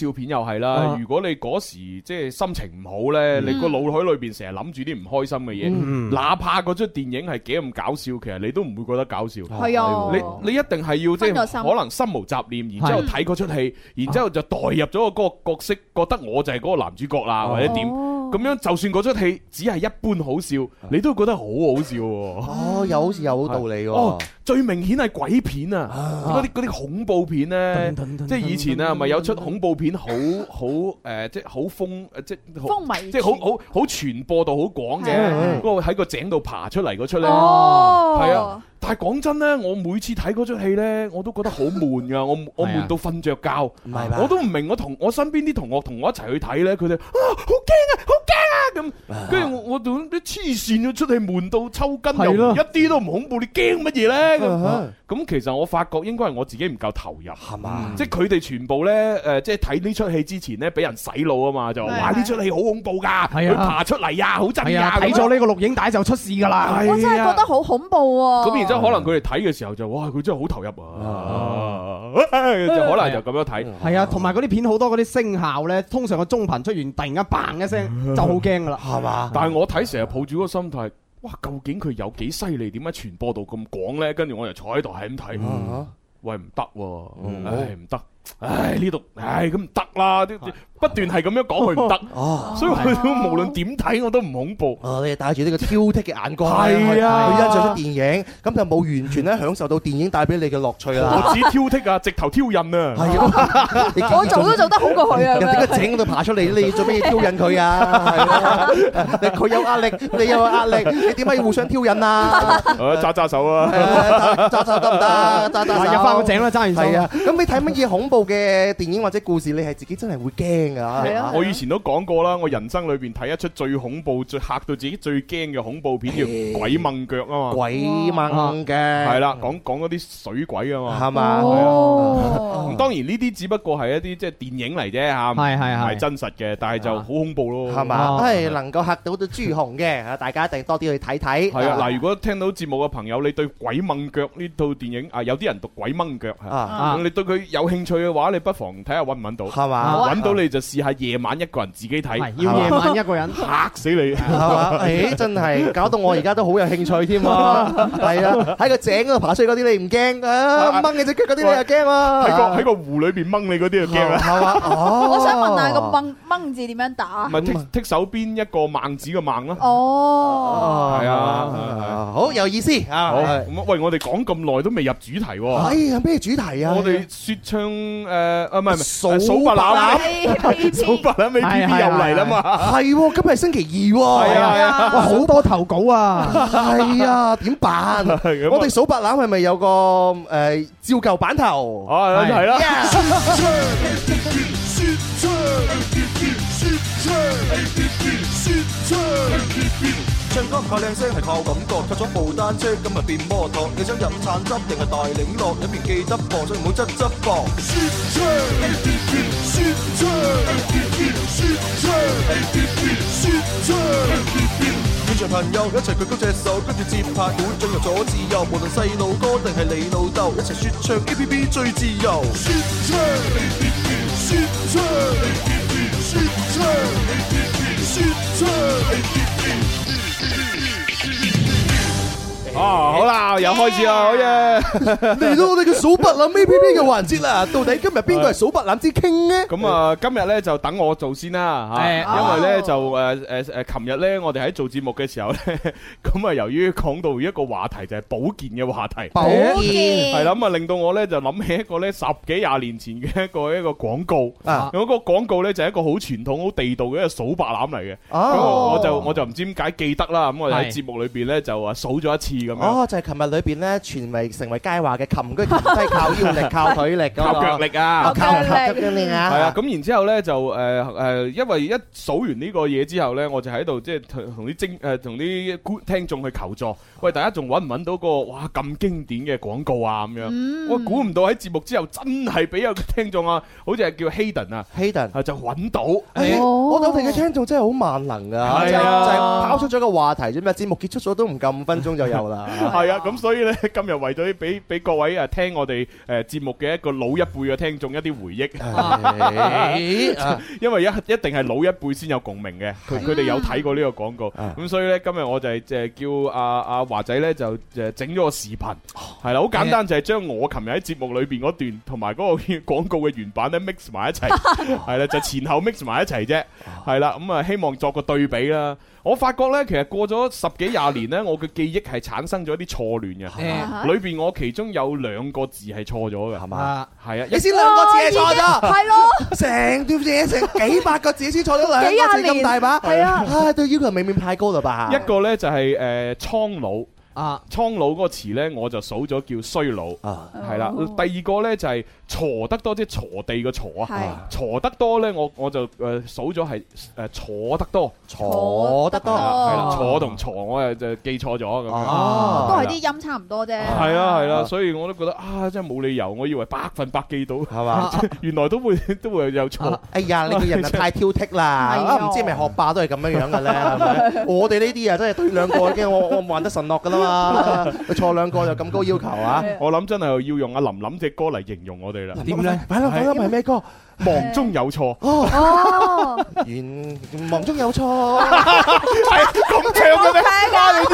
笑片又係啦。如果你嗰時即係心情唔好咧，你個腦海裏邊成日諗住啲唔開心嘅嘢，哪怕嗰出電影係幾咁搞笑，其實你都唔會覺得搞笑。 係啊， 你你一定係要即係可能心無雜念，然之後睇嗰出戲，然之後就代入咗個嗰個角色，覺得我就係嗰個男主角啦，或者點咁樣，就算嗰出戲只係一般好笑，你都覺得好好笑。 哦，又好似有好道理喎。 哦，最明顯係鬼片啊！嗰啲嗰啲恐怖片咧，即係以前啊，咪有出恐怖片好好誒，即係好風誒，即係風靡， 即係好好好傳播度好廣嘅，嗰個喺個井度爬出嚟嗰出咧， 哦， 係啊。但係講真咧，我每次睇嗰出戲咧，我都覺得好悶噶，我我悶到瞓着覺，我都唔明我同我身邊啲同學同我一齊去睇咧，佢哋啊好驚啊，好驚啊咁，跟住我我同啲黐線咗出戲悶到抽筋，又一啲都唔恐怖，你驚乜嘢咧？咁咁其實我發覺應該係我自己唔夠投入，係嘛？即係佢哋全部咧誒，即係睇呢出戲之前咧，俾人洗腦啊嘛，就話哇呢出戲好恐怖㗎，佢爬出嚟呀，好震呀， 睇咗呢個錄影帶就出事㗎啦， 我真係覺得好恐怖喎。 咁然之後可能佢哋睇嘅時候就哇，佢真係好投入啊！就可能就咁樣睇。 係啊，同埋嗰啲片好多嗰啲聲效咧，通常個中頻出完，突然間嘭一聲就好驚㗎啦，係嘛？ 但係我睇成日抱住嗰個心態，哇！究竟佢有幾犀利？點解傳播度咁廣咧？跟住我就坐喺度係咁睇，喂唔得喎，唉唔得。唉呢度，唉咁唔得啦，不斷係咁樣講佢唔得，所以佢都無論點睇我都唔恐怖。 哦，你係帶住呢個挑剔嘅眼光， 係啊， 去欣賞出電影，咁就冇完全咧享受到電影帶俾你嘅樂趣啦。 我只挑剔啊，直頭挑釁啊！ 係啊， 我做都做得好過佢啊！ 人哋個井嗰度爬出嚟，你做咩要挑釁佢啊？佢有壓力，你有壓力，你點解要互相挑釁啊？ 揸揸手啊！ 揸手得唔得？揸揸手入翻個井啦，揸完手。 係啊，咁你睇乜嘢恐怖嘅電影或者故事，你係自己真係會驚噶？ 係啊！我以前都講過啦，我人生裏邊睇一出最恐怖、最嚇到自己最驚嘅恐怖片叫《鬼掹腳》啊嘛。 鬼掹腳係啦，講講嗰啲水鬼啊嘛， 係嘛？ 咁當然呢啲只不過係一啲即係電影嚟啫嚇， 係係係， 唔係真實嘅，但係就好恐怖咯， 係嘛？係能夠嚇到到朱紅嘅，大家一定多啲去睇睇。 係啊，嗱，如果聽到節目嘅朋友，你對《鬼掹腳》呢套電影啊，有啲人讀《鬼掹腳》嚇，你對佢有興趣嘅話，你不妨睇下揾唔揾到，係嘛？揾到你就試下夜晚一個人自己睇， 要夜晚一個人嚇死你， 係嘛？誒，真係搞到我而家都好有興趣添啊！係啊，喺個井嗰度爬出去嗰啲你唔驚啊？掹你隻腳嗰啲你又驚啊？ 喺個喺個湖裏邊掹你嗰啲就驚啊！ 係嘛？哦， 我想問下個掹掹字點樣打？ 咪剔剔手邊一個孟子嘅孟咯。 哦， 係啊， 好有意思啊！ 好咁喂，我哋講咁耐都未入主題喎。 哎呀，咩主題啊？ 我哋説唱誒啊，唔係唔係數白欖， 數白欖 A P P 又嚟啦嘛。 係喎，今日係星期二喎。係啊，哇，好多投稿啊。 係啊，點辦？我哋數白欖係咪有個誒照舊版頭？ 啊，係啦。 唱歌靠靚聲係靠感覺，踏咗部單車今日變摩托。你想飲橙汁定係大檸樂？一邊記得磅，所以唔好側側磅。説唱 A P P， 説唱 A P P， 説唱 A P P， 説唱 A P P。現場朋友一齊舉高隻手，跟住節拍鼓進入咗自由。無論細路哥定係你老豆，一齊説唱 A P P 最自由。説唱 A P P， 説唱 A P P， 説唱 A P P， 説唱 A P P。 啊，好啦，又開始啦，好嘢！ 嚟到我哋嘅數白欖 A P P 嘅環節啦，到底今日邊個係數白欖之 King 呢？ 咁啊，今日咧就等我做先啦嚇，因為咧就誒誒誒，琴日咧我哋喺做節目嘅時候咧，咁啊由於講到一個話題就係保健嘅話題， 保健係啦，咁啊令到我咧就諗起一個咧十幾廿年前嘅一個一個廣告， 啊， 嗰個廣告咧就係一個好傳統、好地道嘅一個數白欖嚟嘅，咁我就我就唔知點解記得啦，咁我哋喺節目裏邊咧就啊數咗一次。 哦，就係琴日裏邊咧，傳為成為佳話嘅擒居擒低靠腰力、靠腿力、 靠腳力啊！ 靠腳力啊！ 係啊，咁然之後咧就誒誒，因為一數完呢個嘢之後咧，我就喺度即係同啲精誒同啲聽眾去求助，喂，大家仲揾唔揾到個哇咁經典嘅廣告啊咁樣？我估唔到喺節目之後真係俾有個聽眾啊，好似係叫 Hayden 啊 ，Hayden 就揾到。 我哋嘅聽眾真係好萬能㗎，就係拋出咗個話題啫嘛，節目結束咗都唔夠五分鐘就有啦。 啦。 係啊，咁所以咧今日為咗俾俾各位誒聽我哋誒節目嘅一個老一輩嘅聽眾一啲回憶，因為一一定係老一輩先有共鳴嘅，佢佢哋有睇過呢個廣告，咁所以咧今日我就係即係叫阿阿華仔咧就誒整咗個視頻，係啦，好簡單就係將我琴日喺節目裏邊嗰段同埋嗰個廣告嘅原版咧 mix 埋一齊，係啦，就前後 mix 埋一齊啫，係啦，咁啊希望作個對比啦。我發覺咧，其實過咗十幾廿年咧，我嘅記憶係產生咗一啲錯亂嘅，裏邊我其中有兩個字係錯咗嘅，係嘛？係啊， 你先兩個字係錯咗， 係咯， 成段嘢成幾百個字先錯咗兩個字咁大把，係啊，唉，對要求未免太高啦吧？ 一個咧就係誒蒼老。啊，蒼老嗰個詞咧，我就數咗叫衰老，係啦。第二個咧就係鋤得多，即係鋤地嘅鋤啊。鋤得多咧，我我就誒數咗係誒坐得多， 坐得多， 係啦，坐同鋤我誒就記錯咗咁樣。 哦，都係啲音差唔多啫。 係啊係啦，所以我都覺得啊，真係冇理由，我以為百分百記到，係嘛？原來都會都會有錯。哎呀，你個人啊太挑剔啦！唔知係咪學霸都係咁樣樣嘅咧？係咪？我哋呢啲啊，真係對兩個已經我我還得神落㗎啦。佢錯兩個就咁高要求啊！ 我諗真係要用阿林林隻歌嚟形容我哋啦。 點咧？快啦快啦，係咩歌？ 忙中有錯。 哦， 原忙中有錯， 係咁唱嘅咩？啊！你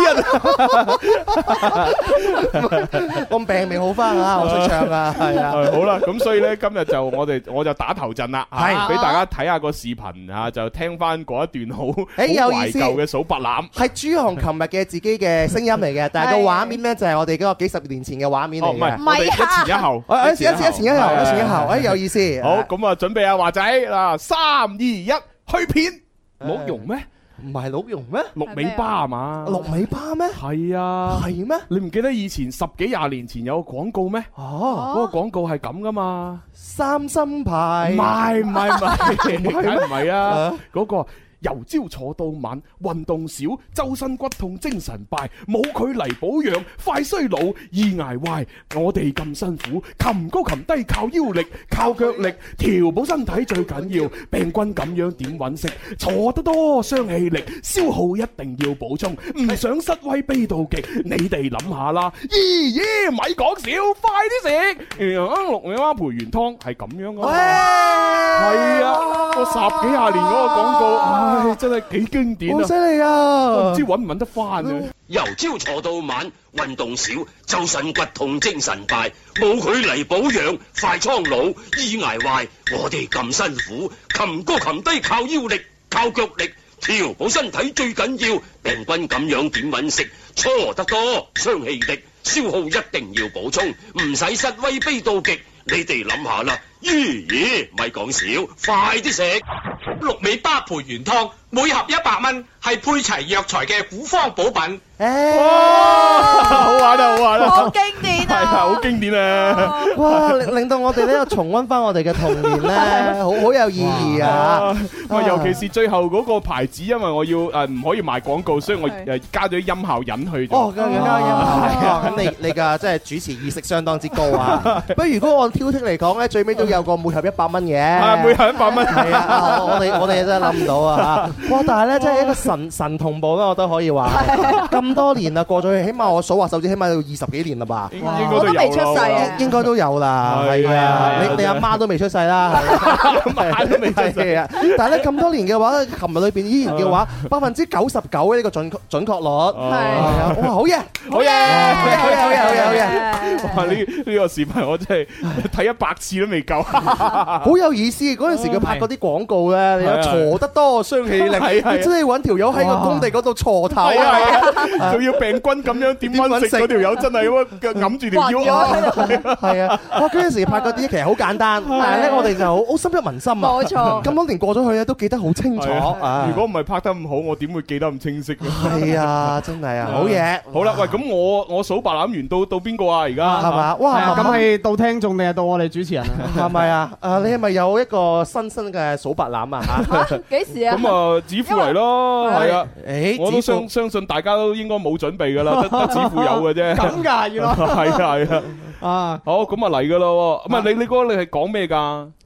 啲人，我病未好翻啊！我識唱啊，係啊。 好啦，咁所以咧，今日就我哋我就打頭陣啦，係俾大家睇下個視頻啊，就聽翻嗰一段好好懷舊嘅數白欖。 係朱紅琴日嘅自己嘅聲音嚟嘅，但係個畫面咧就係我哋嗰個幾十年前嘅畫面嚟嘅。 唔係，唔係一前一後， 一前一前一前一後，一前一後，哎有意思。 好，咁啊準備啊華仔嗱，三二一，去片。鹿茸咩？ 唔係鹿茸咩？ 鹿尾巴係嘛？ 鹿尾巴咩？ 係啊。 係咩？ 你唔記得以前十幾廿年前有個廣告咩？哦，嗰個廣告係咁噶嘛？ 三心牌。 唔係唔係唔係，梗唔係啊？嗰個。由朝坐到晚，運動少，周身骨痛，精神敗，冇佢嚟保養，快衰老，易挨壞。我哋咁辛苦，擒高擒低靠腰力，靠腳力，調補身體最緊要。病菌咁樣點揾食？坐得多傷氣力，消耗一定要補充。唔想失威悲到極，你哋諗下啦。咦咦，咪講笑，快啲食！鹿尾巴培元湯係咁樣噶，係啊，個十幾廿年嗰個廣告。唉，真係幾經典啊！ 好犀利啊！ 都唔知揾唔揾得翻啊！ 由朝坐到晚，運動少，周身骨痛，精神敗，冇佢嚟保養，快蒼老，易挨壞。我哋咁辛苦，擒高擒低靠腰力，靠腳力，調補身體最緊要。病菌咁樣點揾食？搓得多，傷氣力，消耗一定要補充，唔使失威悲到極。你哋諗下啦，咦咦，咪講笑，快啲食！ 鹿尾巴培元湯，每盒一百蚊，係配齊藥材嘅古方補品。 哇！好玩啊，好玩啊！ 好經典啊！ 係啊，好經典啊！ 哇，令令到我哋呢個重溫翻我哋嘅童年咧，好好有意義啊！ 哇，尤其是最後嗰個牌子，因為我要誒唔可以賣廣告，所以我誒加咗音效引去。 哦，加音效，咁你你嘅即係主持意識相當之高啊！不如如果按挑剔嚟講咧，最尾都有個每盒一百蚊嘅。 係每盒一百蚊。 係啊，我哋我哋真係諗唔到啊！哇，但係咧，真係一個神神同步啦，我都可以話。咁多年啦，過咗去，起碼我數下手指，起碼要二十幾年啦吧？ 應該都未出世啊！ 應該都有啦，係啊！你你阿媽都未出世啦， 媽都未出世啊！但係咧咁多年嘅話，琴日裏邊依然嘅話，百分之九十九嘅呢個準準確率係啊！哇，好嘢， 好嘢， 好嘢，好嘢，好嘢，好嘢！ 哇！呢呢個視頻我真係睇一百次都未夠， 好有意思。嗰陣時佢拍嗰啲廣告咧，你鋤得多傷氣力，你真係揾條友喺個工地嗰度鋤頭啊！ 仲要病菌咁樣點樣食嗰條友真係咁揞住條腰啊！ 係啊！哇！嗰陣時拍嗰啲其實好簡單，但係咧我哋就好好深入民心啊！ 冇錯， 咁多年過咗去咧，都記得好清楚。 如果唔係拍得咁好，我點會記得咁清晰嘅？ 係啊，真係啊，好嘢！ 好啦，喂，咁我我數白欖完到到邊個啊？而家係嘛？哇！ 咁係到聽眾定係到我哋主持人啊？ 係咪啊？誒，你係咪有一個新新嘅數白欖啊？ 嚇！幾時啊？ 咁啊，指父嚟咯，係啊！ 誒， 我都相相信大家都應該冇準備㗎啦，得得指父有嘅啫。 咁㗎，原來係啊係啊！ 啊， 好，咁啊嚟㗎咯。咁啊，你你嗰個你係講咩㗎？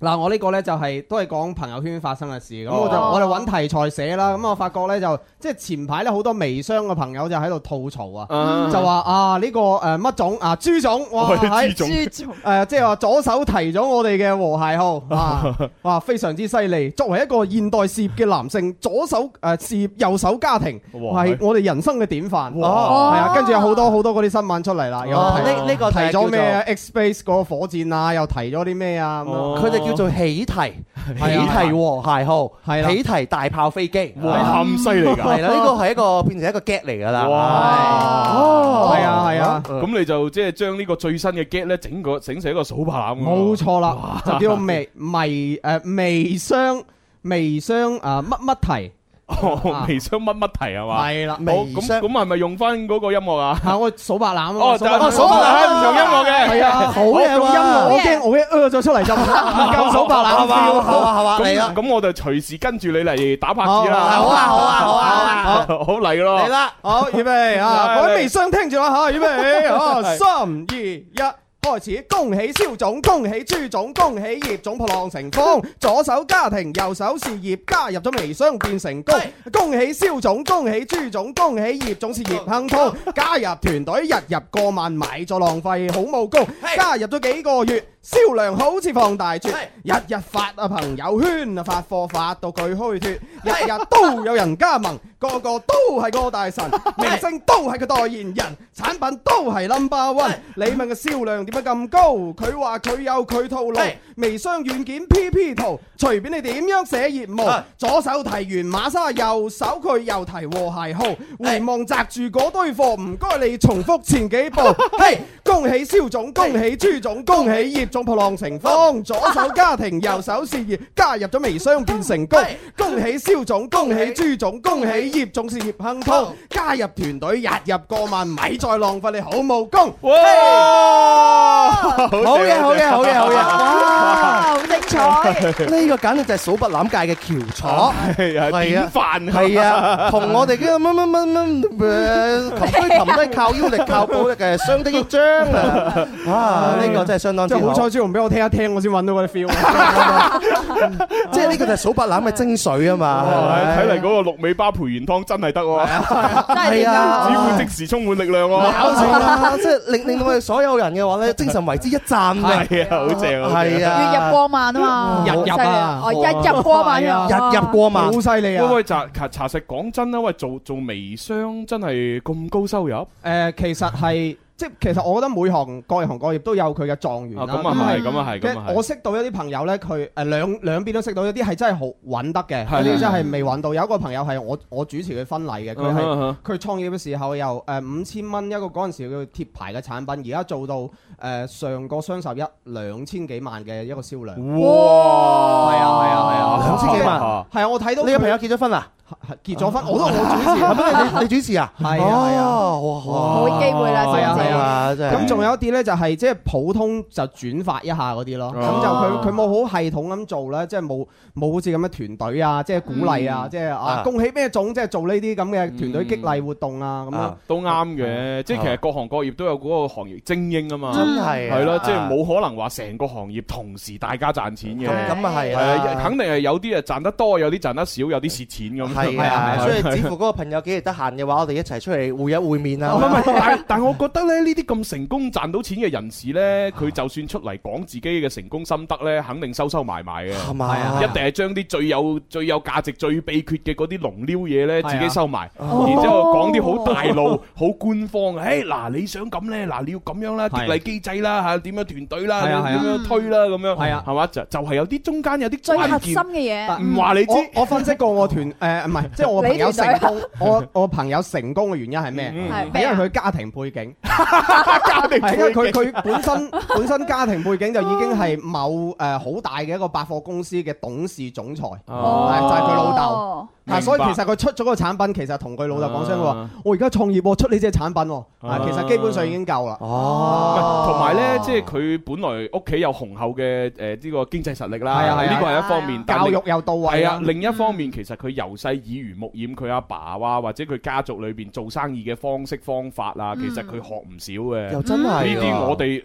嗱，我呢個呢就係都係講朋友圈發生嘅事，咁我就我哋揾題材寫啦。咁我發覺呢，就即係前排呢好多微商嘅朋友就喺度吐槽啊，就話啊呢個誒乜種啊朱總，哇喺朱總誒即係話左手提咗我哋嘅和諧號啊，哇非常之犀利。作為一個現代事業嘅男性，左手誒事業右手家庭係我哋人生嘅典範。係啊，跟住有好多好多嗰啲新聞出嚟啦，又呢呢個提咗咩 X Space 嗰個火箭啊，又提咗啲咩啊咁樣。 佢哋叫做喜提，喜提和諧號，喜提大炮飛機， 哇咁犀利㗎！ 係啦，呢個係一個變成一個 get 嚟㗎啦。 哇！ 哦，係啊係啊， 咁你就即係將呢個最新嘅 get 咧整個整成一個數白欖。 冇錯啦，就叫做微微誒微商微商啊乜乜題。 哦，微商乜乜題係嘛？ 係啦， 好咁咁係咪用翻嗰個音樂啊？ 係我數白欖啊！ 哦，就係數白欖用音樂嘅， 係啊，好嘅用音樂，我驚我一呃咗出嚟就唔夠數白欖。 係嘛係嘛係嘛，嚟啦！ 咁我就隨時跟住你嚟打拍子啦。 好啊好啊好啊好， 好嚟咯！ 嚟啦！ 好預備啊！各位微商聽住啦嚇，預備啊！三二一。開始，恭喜蕭總，恭喜朱總，恭喜葉總破浪成風，左手家庭，右手事業，加入咗微商變成功。恭喜蕭總，恭喜朱總，恭喜葉總事業亨通，加入團隊日日過萬，買咗浪費好武功，加入咗幾個月。銷量好似放大絕，日日發啊朋友圈啊發貨發到佢虛脫，日日都有人加盟，個個都係個大神，明星都係個代言人，產品都係 number one。你問個銷量點解咁高？佢話佢有佢套路，微商軟件 P P 圖，隨便你點樣寫業務，左手提完馬莎，右手佢又提和諧號，回望擲住嗰堆貨，唔該你重複前幾步。嘿，恭喜蕭總，恭喜朱總，恭喜葉總破浪成風，左手家庭，右手事業，加入咗微商變成功。恭喜蕭總，恭喜朱總，恭喜葉總事業亨通，加入團隊日入過萬，咪再浪費你好武功。 哇！好嘢好嘢好嘢好嘢！哇， 好精彩！ 呢個簡直就係數白欖界嘅翹楚， 係啊，典範係啊，同我哋嘅乜乜乜乜誒擒推擒低靠腰力靠步力嘅相得益彰啊！啊，呢個真係相當之好。 好彩朱紅俾我聽一聽，我先揾到嗰啲 feel。 即係呢個就係數白欖嘅精髓啊嘛！ 睇嚟嗰個鹿尾巴培元湯真係得喎， 係啊， 只會即時充滿力量喎。 搞錯啦！即係令令到我哋所有人嘅話咧，精神為之一振嘅。 係啊，好正啊！ 係啊， 月入過萬啊嘛， 日入啊， 哦，日入過萬啊， 日入過萬， 好犀利啊！ 喂喂，查查實講真啦，喂，做做微商真係咁高收入？ 誒，其實係。即係其實我覺得每行各行各業都有佢嘅狀元啦。 咁啊係，咁啊係，咁啊係。 我識到一啲朋友咧，佢誒兩兩邊都識到，有啲係真係好揾得嘅，有啲真係未揾到。有一個朋友係我我主持佢婚禮嘅，佢係佢創業嘅時候由誒五千蚊一個嗰陣時叫貼牌嘅產品，而家做到誒上個雙十一兩千幾萬嘅一個銷量。 哇！ 係啊係啊係啊， 兩千幾萬。 係啊，我睇到你個朋友結咗婚啊？ 結咗婚，我都我主持， 係咩？你你主持啊？ 係啊係啊， 冇機會啦， 係啊係啊， 咁仲有一啲咧，就係即係普通就轉發一下嗰啲咯。咁就佢佢冇好系統咁做咧，即係冇冇好似咁嘅團隊啊，即係鼓勵啊，即係啊恭喜咩總，即係做呢啲咁嘅團隊激勵活動啊，咁樣都啱嘅。即係其實各行各業都有嗰個行業精英啊嘛， 真係係咯，即係冇可能話成個行業同時大家賺錢嘅。 咁啊係啊，肯定係有啲啊賺得多，有啲賺得少，有啲蝕錢咁。 係啊，所以似乎嗰個朋友幾日得閒嘅話，我哋一齊出嚟會一會面啊！ 唔係唔係，但但我覺得咧，呢啲咁成功賺到錢嘅人士咧，佢就算出嚟講自己嘅成功心得咧，肯定收收埋埋嘅。 係咪啊？ 一定係將啲最有最有價值、最秘訣嘅嗰啲龍撩嘢咧，自己收埋，然之後講啲好大路、好官方嘅。誒嗱，你想咁咧，嗱你要咁樣啦，激勵機制啦嚇，點樣團隊啦，點樣推啦咁樣。係啊，係嘛？就就係有啲中間有啲最核心嘅嘢。 唔話你知， 我分析過我團誒唔係，即係我朋友成功，我我朋友成功嘅原因係咩？係因為佢家庭背景， 家庭係因為佢佢本身本身家庭背景就已經係某誒好大嘅一個百貨公司嘅董事總裁，就係佢老豆。啊，所以其實佢出咗個產品，其實同佢老豆講聲話，我而家創業，出呢隻產品，啊，其實基本上已經夠啦。 哦，同埋咧，即係佢本來屋企有雄厚嘅誒呢個經濟實力啦，呢個係一方面。 教育又到位。 係啊，另一方面其實佢由細耳濡目染，佢阿爸啊或者佢家族裏邊做生意嘅方式方法啊，其實佢學唔少嘅。 又真係呢啲我哋。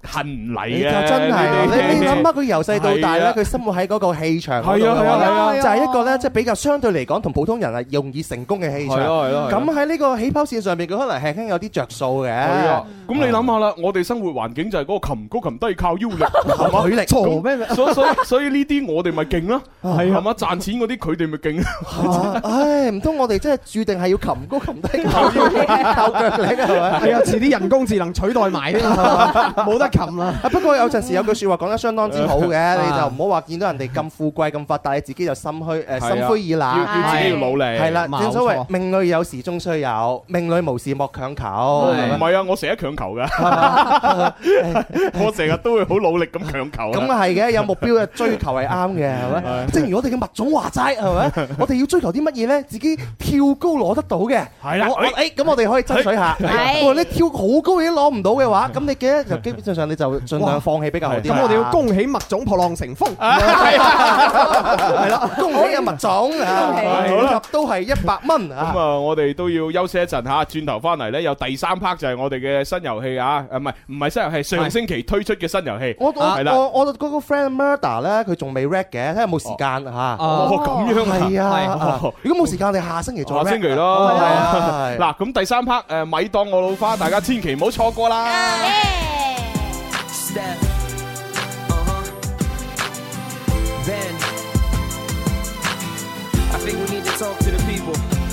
恨唔嚟你就嘅。 真係，你你諗下佢由細到大咧，佢生活喺嗰個氣場嗰度， 係啊係啊係啊就係一個咧，即係比較相對嚟講同普通人係容易成功嘅氣場。 係咯係咯係咯咁喺呢個起跑線上面，佢可能輕輕有啲着數嘅。 係啊，咁你諗下啦，我哋生活環境就係嗰個擒高擒低靠腰力，係嘛？ 腿力錯咩？ 所以所以所以呢啲我哋咪勁咯， 係啊係嘛？賺錢嗰啲佢哋咪勁。 唉，唔通我哋真係注定係要擒高擒低靠腰靠腳力係咪？ 係啊，遲啲人工智能取代埋添啊，冇得擒啦。 不過有陣時有句説話講得相當之好嘅，你就唔好話見到人哋咁富貴咁發達，你自己就心虛誒心灰意冷， 要要自己要努力。 係啦，正所謂命裏有時終須有，命裏無時莫強求。 唔係啊，我成日強求㗎，我成日都會好努力咁強求。 咁啊係嘅，有目標嘅追求係啱嘅，係咪？正如我哋嘅麥總話齋，係咪？我哋要追求啲乜嘢咧？自己跳高攞得到嘅。 係啦， 誒咁我哋可以爭取下。如果你跳好高已經攞唔到嘅話，咁你記得就基本上你就盡量放棄比較好啲。 咁我哋要恭喜麥總破浪成風， 係啦，恭喜阿麥總啊！好啦，都係一百蚊啊！ 咁啊，我哋都要休息一陣嚇，轉頭翻嚟咧，有第三 part 就係我哋嘅新遊戲啊！誒唔係唔係新遊戲，上星期推出嘅新遊戲。 我係啦， 我我嗰個 friend Murder 咧，佢仲未 rap 嘅，睇下有冇時間嚇。 哦，咁樣啊！ 係啊，如果冇時間，我哋下星期再 rap。 下星期咯。 係啊， 嗱，咁第三 part 誒咪當我老花，大家千祈唔好錯過啦。 I think we need to talk to the people.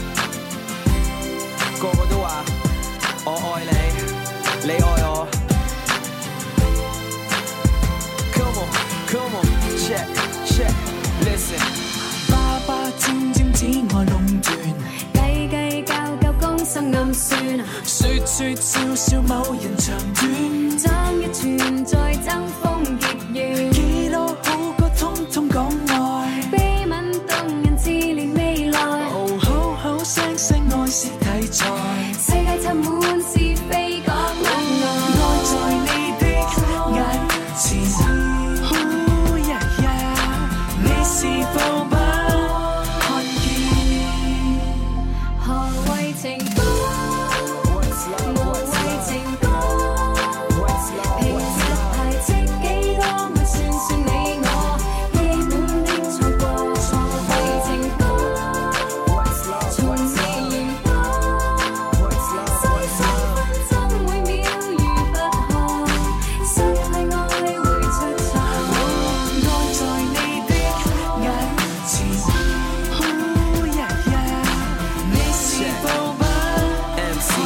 個個都話我愛你，你愛我。Come on, come on, check, check, listen. 爸爸漸漸只愛壟斷，計計較較攻心暗算，説説笑笑某人長短，爭一寸再爭鋒結怨，幾多好歌通通講愛，秘吻動人自憐未來，哦好好聲聲愛是題材，世界插滿是非講愛，愛在你的眼前，哦呀呀，你是否不看見？何謂情歌？無謂情歌，平日排斥幾多，咪算算你我，基本的錯過。何謂情歌？從未言過，三三分鐘每秒如拔河，失去愛會出錯。愛在你的眼前，哦呀呀，你是否不 M C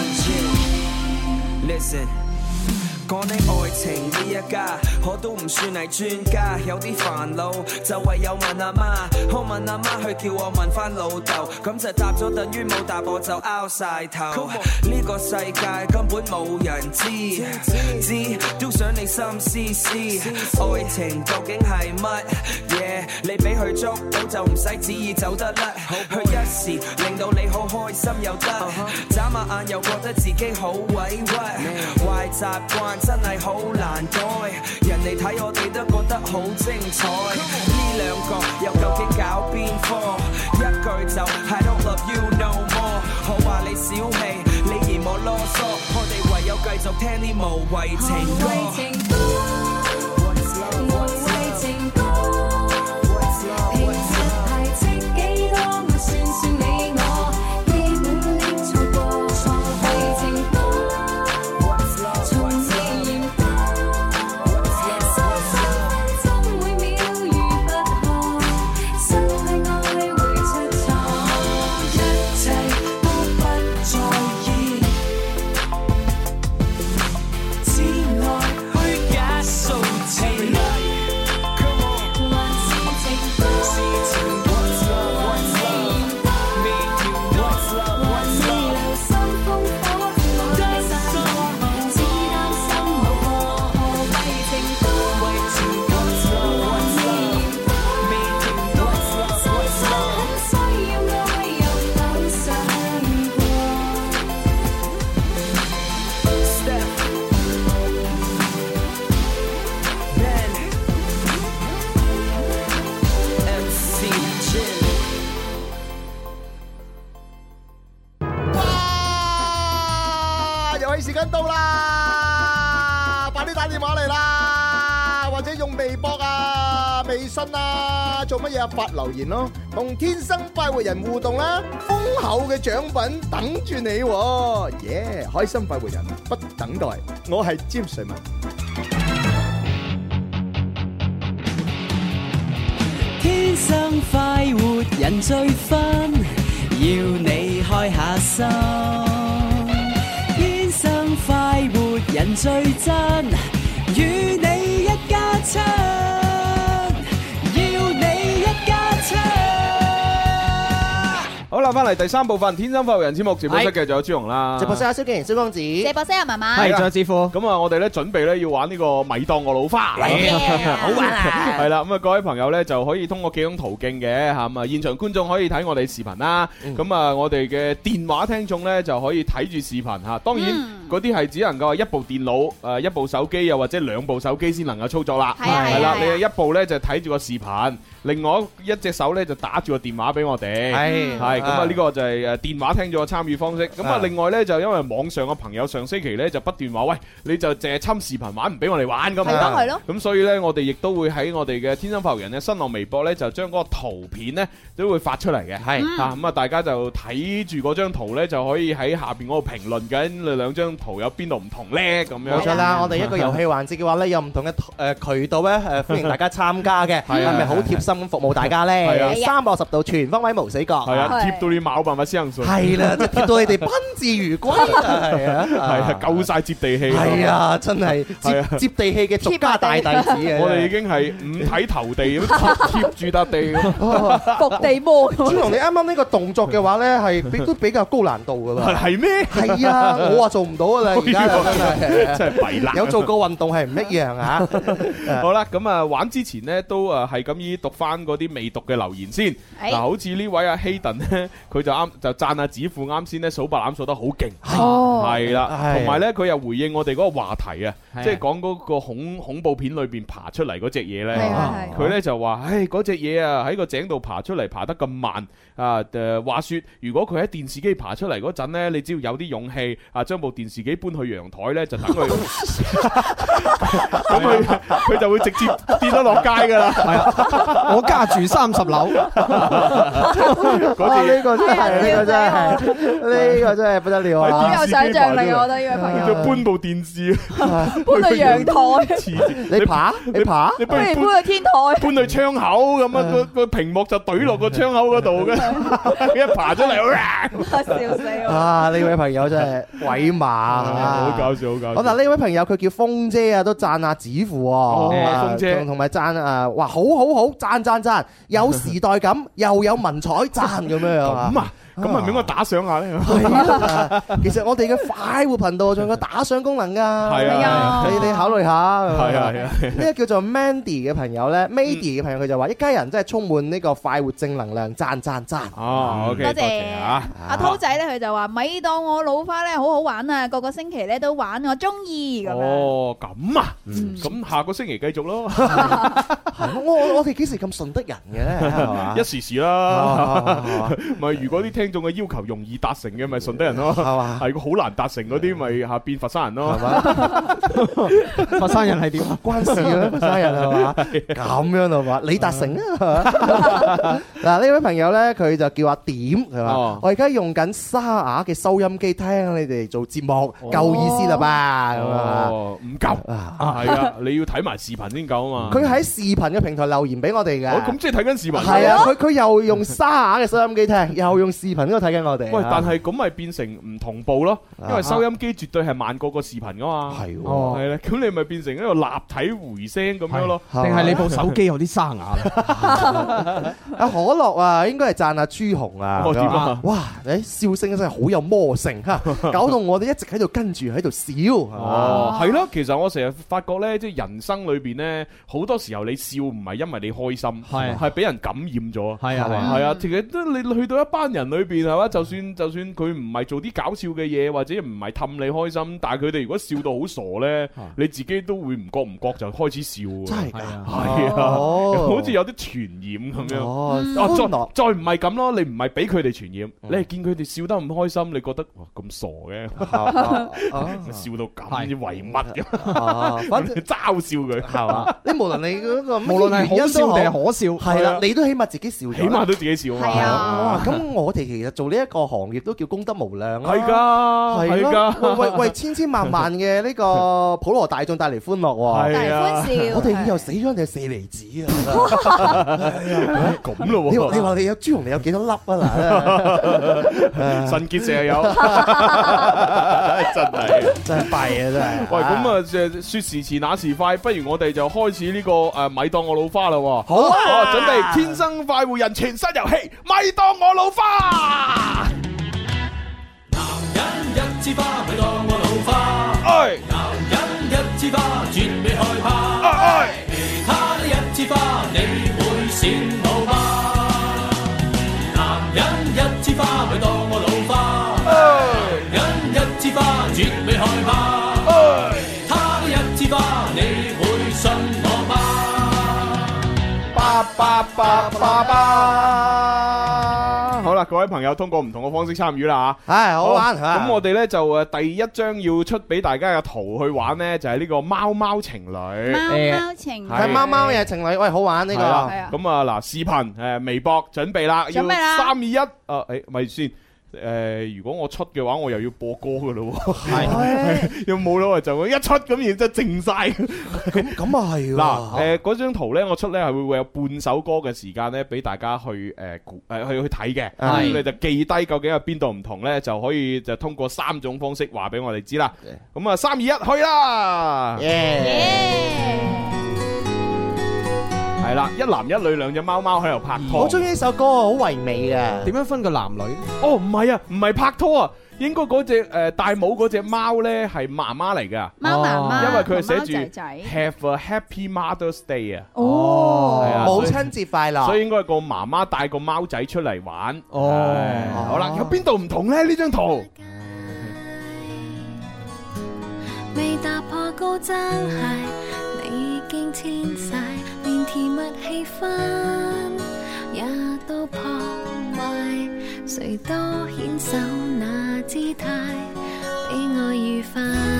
J，Listen。講起愛情呢一家，我都唔算係專家，有啲煩惱就唯有問阿媽，我問阿媽去叫我問翻老豆，咁就答咗等於冇答我就拗晒頭。呢個世界根本冇人知，知都想你心思思，愛情究竟係乜嘢？你俾佢捉到就唔使旨意走得甩，佢一時令到你好開心又得，眨下眼又覺得自己好委屈，壞習慣真係好難改，人哋睇我哋都覺得好精彩，呢兩個又究竟搞邊科？一句就 I don't love you no more， 我話你小氣，你嫌我囉嗦，我哋唯有繼續聽啲無謂情歌。 無謂情歌，無謂情歌，平日排斥幾多，咪算算你我，基本的錯過。何謂情歌？從未言過，三三分鐘每秒如拔河，失去愛會出錯，一切都不在意，只愛虛假數字。還是情歌，是情歌，還是言歌，還是流心烽火，愛散過，只擔心無果。何謂情歌？還是言歌，深深很需要愛，又否想過 Step Ben M C Jin。 哇！遊戲時間到啦！ 快啲打電話嚟啦，或者用微博啊、微信啊，做乜嘢啊？發留言咯，同天生快活人互動啦，豐厚嘅獎品等住你喎，耶！開心快活人不等待，我係詹瑞文。 天生快活人最分，要你開下心。天生快活人最真，與你一家親，要你一家親。 好啦，翻嚟第三部分《天生快活人》節目直播室嘅仲有朱紅啦， 直播室阿蕭敬仁、蕭公子， 直播室阿文文， 係仲有子富。 咁啊，我哋咧準備咧要玩呢個咪當我老花， 好玩啊！ 係啦，咁啊各位朋友咧就可以通過幾種途徑嘅嚇，咁啊現場觀眾可以睇我哋視頻啦，咁啊我哋嘅電話聽眾咧就可以睇住視頻嚇。當然嗰啲係只能夠係一部電腦、誒一部手機又或者兩部手機先能夠操作啦。係啊係啦，你一部咧就睇住個視頻，另外一隻手咧就打住個電話俾我哋。係係咁啊，呢個就係誒電話聽眾嘅參與方式。咁啊，另外咧就因為網上嘅朋友上星期咧就不斷話喂，你就淨係侵視頻玩唔俾我哋玩咁樣。係咯係咯。咁所以咧，我哋亦都會喺我哋嘅天生快活人嘅新浪微博咧，就將嗰個圖片咧都會發出嚟嘅。係啊，咁啊，大家就睇住嗰張圖咧，就可以喺下邊嗰度評論緊你兩張圖有邊度唔同咧咁樣。 冇錯啦，我哋一個遊戲環節嘅話咧，有唔同嘅誒渠道咧誒，歡迎大家參加嘅。係咪好貼心咁服務大家咧？係啊，三百六十度全方位無死角。係啊，貼到你冇辦法相信。係啦，即係貼到你哋賓至如歸。係啊， 係啊，夠曬接地氣。 係啊，真係接接地氣嘅獨家大弟子啊！ 我哋已經係五體投地咁貼住笪地咁。 伏地魔。 朱紅，你啱啱呢個動作嘅話咧，係比都比較高難度噶啦。 係咩？ 係啊，我話做唔到噶啦，而家真係真係弊啦。 有做過運動係唔一樣啊！ 好啦，咁啊玩之前咧都誒係咁依讀翻嗰啲未讀嘅留言先。嗱，好似呢位阿希頓咧，佢就啱就讚阿子富啱先咧數白欖數得好勁。哦，係啦，同埋咧佢又回應我哋嗰個話題啊，即係講嗰個恐恐怖片裏邊爬出嚟嗰隻嘢咧。佢咧就話：唉，嗰隻嘢啊喺個井度爬出嚟，爬得咁慢啊！誒，話説如果佢喺電視機爬出嚟嗰陣咧，你只要有啲勇氣啊，將部電視機搬去陽台咧，就等佢，咁佢佢就會直接跌咗落街㗎啦。係啊， 我家住三十樓。 嗰呢個真係，呢個真係，呢個真係不得了啊！ 好有想像力，我覺得呢位朋友。 就搬部電視， 搬去陽台。 你爬，你爬， 你不如搬去天台， 搬去窗口咁啊！個個屏幕就懟落個窗口嗰度嘅，一爬出嚟， 笑死我！ 啊，呢位朋友真係鬼馬啊！ 好搞笑，好搞笑。 好嗱，呢位朋友佢叫風姐啊，都讚下子父喎。 風姐同埋讚啊，哇，好好好，讚讚讚，有時代感，又有文采，讚咁樣樣啊！ 咁啊！咁係咪應該打賞下咧？ 其實我哋嘅快活頻道仲有個打賞功能㗎， 係啊， 你你考慮下。 係啊係啊， 呢個叫做 Mandy 嘅朋友咧，Mandy 嘅朋友佢就話：一家人真係充滿呢個快活正能量，讚讚讚。 哦，OK，多謝啊！ 阿濤仔咧，佢就話：咪當我老花咧，好好玩啊！個個星期咧都玩，我中意咁樣。 哦，咁啊，咁下個星期繼續咯。 我我哋幾時咁順得人嘅咧？係嘛？ 一時時啦，咪如果啲聽眾嘅要求容易達成嘅，咪順德人咯，係嘛？係個好難達成嗰啲，咪嚇變佛山人咯，係嘛？ 佛山人係點啊？ 關事嘅佛山人係嘛？咁樣係嘛？你達成啊？嗱，呢位朋友咧，佢就叫阿點係嘛？我而家用緊沙啞嘅收音機聽你哋做節目，夠意思啦吧？咁啊， 唔夠啊，係啊，你要睇埋視頻先夠啊嘛。 佢喺視頻嘅平台留言俾我哋嘅， 咁即係睇緊視頻。 係啊，佢佢又用沙啞嘅收音機聽，又用視頻嗰度睇緊我哋。 喂，但係咁咪變成唔同步咯，因為收音機絕對係慢過個視頻噶嘛。係，係啦，咁你咪變成一個立體回聲咁樣咯。 定係你部手機有啲沙啞咧？ 阿可樂啊，應該係讚阿朱紅啊。 我點啊？ 哇！誒，笑聲真係好有魔性嚇，搞到我哋一直喺度跟住喺度笑。 哦，係咯，其實我成日發覺咧，即係人生裏邊咧，好多時候你笑唔係因為你開心，係係俾人感染咗。係啊係啊，其實都你去到一班人裏邊係嘛？就算就算佢唔係做啲搞笑嘅嘢，或者唔係氹你開心，但係佢哋如果笑到好傻咧，你自己都會唔覺唔覺就開始笑。真係㗎，係啊，好似有啲傳染咁樣。哦，再再唔係咁咯，你唔係俾佢哋傳染，你係見佢哋笑得咁開心，你覺得哇咁傻嘅，笑到咁啲為乜嘅？反正嘲笑佢係嘛？你無論你嗰個無論係好笑定係可笑，係啦，你都起碼自己笑，起碼都自己笑啊嘛。係啊，咁我哋其實做呢一個行業都叫功德無量啊。係㗎，係㗎，為為千千萬萬嘅呢個普羅大眾帶嚟歡樂喎。係啊，我哋以後死咗定係舍利子啊！咁咯喎，你話你話你有朱紅，你有幾多粒啊？嗱，腎結石又有，真係真係弊啊！真係。喂，咁啊，説時遲那時快，不如我哋就開始呢個誒咪當我老花啦。好啊，準備天生快活人全新遊戲，咪當我老花。 男人一枝花，咪當我老花。哎，男人一枝花，絕未害怕。哎，其他的一枝花，你會羨慕嗎？男人一枝花，咪當我老花。哎，男人一枝花，絕未害怕。哎，他的一枝花，你會信我嗎？巴巴巴巴巴。 好啦，各位朋友通過唔同嘅方式參與啦嚇， 係好玩。 咁我哋咧就誒第一張要出俾大家嘅圖去玩咧，就係呢個貓貓情侶。貓貓情侶係貓貓嘅情侶，喂，好玩呢個。 咁啊嗱，視頻誒微博準備啦，要三二一，誒誒咪先。誒，如果我出嘅話，我又要播歌噶咯喎，係有冇咯？就一出咁，然之後靜晒。 咁咁啊係嗱，誒嗰張圖咧，我出咧係會會有半首歌嘅時間咧，俾大家去誒誒去去睇嘅。咁你就記低究竟有邊度唔同咧，就可以就通過三種方式話俾我哋知啦。咁啊，三二一，去啦！係啦，一男一女兩隻貓貓喺度拍拖。 我中意呢首歌，好唯美嘅。 點樣分個男女？ 哦，唔係啊，唔係拍拖啊，應該嗰隻誒戴帽嗰隻貓咧係媽媽嚟噶。 貓媽媽， 因為佢係寫住 Have a Happy Mother's Day 啊。哦，係啊， 母親節快樂。 所以應該係個媽媽帶個貓仔出嚟玩。哦，好啦，有邊度唔同咧？呢張圖未打破高踭鞋，你已經遷徙。連甜蜜氣氛也都破壞，誰都牽手那姿態，比我愉快。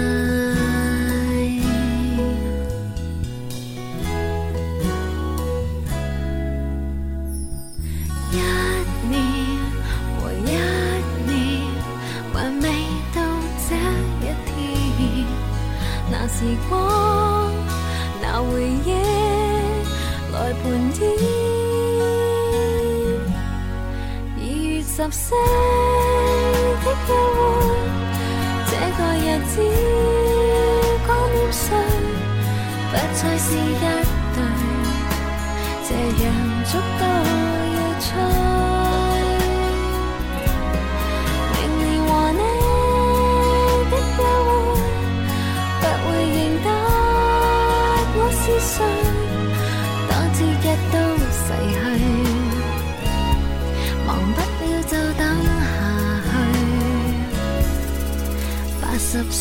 一年和一年，還未到這一天，那時光，那回憶來盤點，二月十四的約會，這個日子光點碎，不再是一對，這樣足夠要吹。明年和你的約會，不會認得我是誰。節日都逝去，忘不了就等下去，八十歲。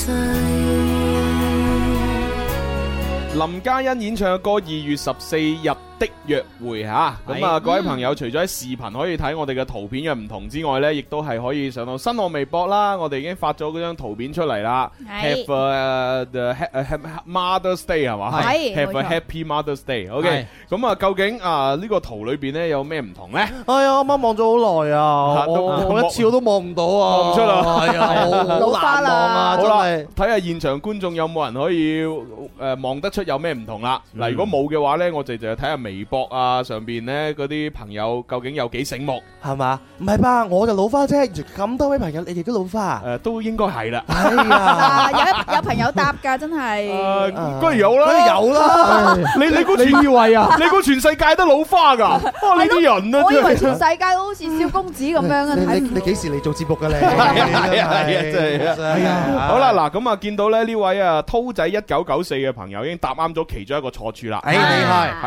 林嘉欣演唱嘅歌《二月十四日的約會》吓，咁啊各位朋友除咗喺視頻可以睇我哋嘅圖片嘅唔同之外呢，亦都係可以上到新浪微博啦。我哋已經發咗嗰張圖片出嚟啦。Have a Mother's Day 係嘛？係 Have a Happy Mother's Day。OK， 咁啊究竟啊呢個圖裏邊呢有咩唔同呢？ 哎呀，啱啱望咗好耐啊，我一次我都望唔到啊， 望唔出啦， 係啊，好難望啊，真係。 睇下現場觀眾有冇人可以誒望得出有咩唔同啦。嗱，如果冇嘅話呢，我哋就睇下微博啊上邊咧嗰啲朋友究竟有幾醒目係嘛？唔係吧？我就老花啫，咁多位朋友你哋都老花， 誒都應該係啦。 係啊， 有有朋友答㗎，真係。 誒，梗係有啦， 梗係有啦。 你你估全以為啊？你估全世界都老花㗎？哇！你啲人啊， 我以為全世界都好似蕭公子咁樣啊！ 你你幾時嚟做節目㗎你？ 係啊係啊真係。係啊。好啦嗱，咁啊見到咧呢位啊濤仔一九九四嘅朋友已經答啱咗其中一個錯處啦。誒厲害。係啦，就係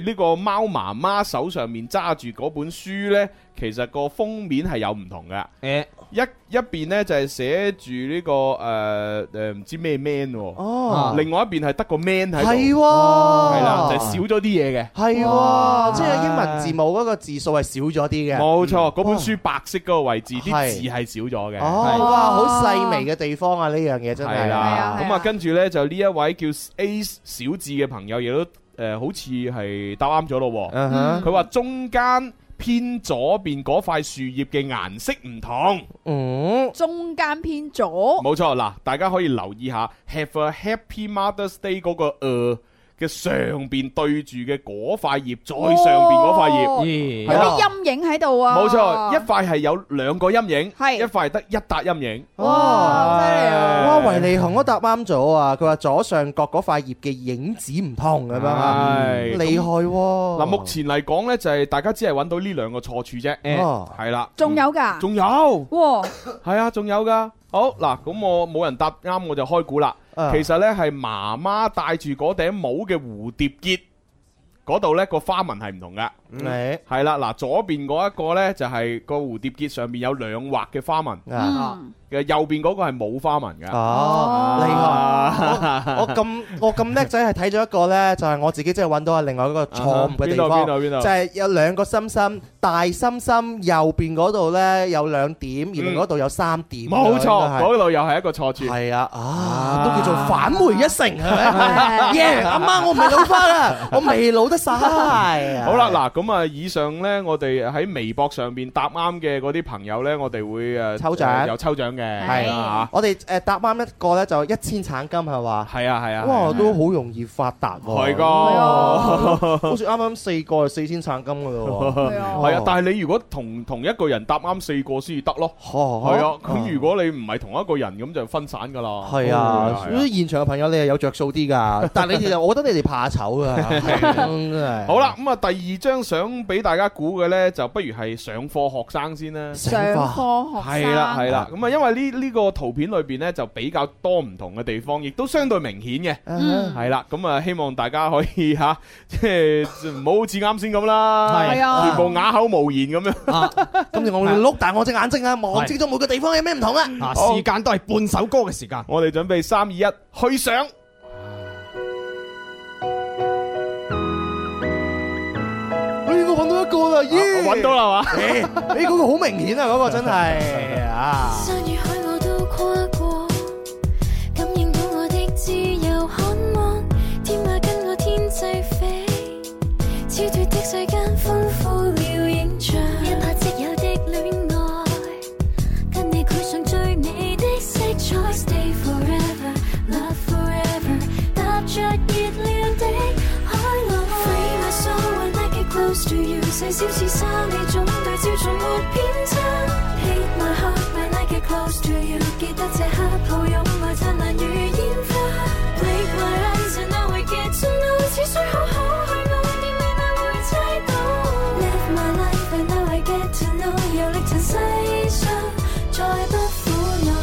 係呢個貓媽媽手上面揸住嗰本書呢，其實個封面係有唔同嘅。誒，一一邊呢就係寫住呢個誒誒唔知咩 man 喎，哦，另外一邊係得個 man 喺度，係喎，係啦，就係少咗啲嘢嘅，係喎， 即係英文字母嗰個字數係少咗啲嘅， 冇錯，嗰本書白色嗰個位置啲字係少咗嘅， 哦，哇，好細微嘅地方啊，呢樣嘢真係，係啦， 咁啊跟住呢就呢一位叫 A 小智嘅朋友亦都誒好似係答啱咗咯，佢話中間偏左邊嗰塊樹葉嘅顏色唔同， 嗯，中間偏左， 冇錯嗱，大家可以留意下 Have a Happy Mother's Day 嗰個誒嘅上邊對住嘅嗰塊葉，再上邊嗰塊葉， 有啲陰影喺度啊， 冇錯，一塊係有兩個陰影，係一塊得一笪陰影， 哇，犀利啊！哇，維尼熊都答啱咗啊！佢話左上角嗰塊葉嘅影子唔同咁樣啊，厲害喎！ 嗱，目前嚟講咧，就係大家只係揾到呢兩個錯處啫，係啦， 仲有㗎， 仲有，哇，係啊，仲有㗎。好嗱，咁我冇人答啱，我就開估啦。其實呢係媽媽戴住嗰頂帽嘅蝴蝶結嗰度呢個花紋係唔同嘅。係係啦，嗱，左邊嗰一個呢就係個蝴蝶結上面有兩畫嘅花紋，嘅右邊嗰個係冇花紋嘅。 哦，厲害！我咁我咁叻仔係睇咗一個呢，就係我自己真係揾到係另外一個錯誤嘅地方。邊度邊度邊度？就係有兩個心心，大心心右邊嗰度呢有兩點，而另嗰度有三點。 冇錯，嗰度又係一個錯處。 係啊，啊都叫做返回一成係咪？耶！阿媽，我唔係老花啦，我未老得晒。 好啦，嗱咁啊，以上呢，我哋喺微博上邊答啱嘅嗰啲朋友呢，我哋會誒抽獎， 有抽獎嘅。 係啊，我哋誒答啱一個咧就一千橙金係嘛？ 係啊係啊， 哇都好容易發達喎。 係噶， 好似啱啱四個係四千橙金噶咯。 係啊，但係你如果同同一個人答啱四個先至得咯。係啊，咁如果你唔係同一個人咁就分散噶啦。 係啊，所以現場嘅朋友你係有着數啲噶，但係你哋，我覺得你哋怕醜啊。 好啦，咁啊第二張相俾大家估嘅咧，就不如係上課學生先啦。 上課學生係啦係啦，咁啊因為呢呢個圖片裏邊咧就比較多唔同嘅地方，亦都相對明顯嘅。係啦，咁啊希望大家可以吓，即係唔好好似啱先咁啦，係啊，全部啞口無言咁樣。 今次我會碌大我隻眼睛啊，望清楚每個地方有咩唔同啊。 啊，時間都係半首歌嘅時間， 我哋準備三二一，去上。 我揾到一個啦，耶！ 我揾到啦嘛？ 誒，誒嗰個好明顯啊，嗰個真係啊！ 山與海我都跨過，感應到我的自由渴望，天馬跟我天際飛，超脫的世間豐富了影像，一拍即有的戀愛，跟你繪上最美的色彩 ，Stay forever, love forever， 踏着熱戀的海浪 ，Free my soul when I get close to you， 細小似沙你總對焦從沒偏差 ，Hate my heart when I get close to you， 記得這刻抱擁愛燦爛如煙花 ，Blink my eyes and now I get to know， 似水好好去愛，點未能會猜到 ，Live my life and now I get to know， 遊歷塵世上再不苦惱。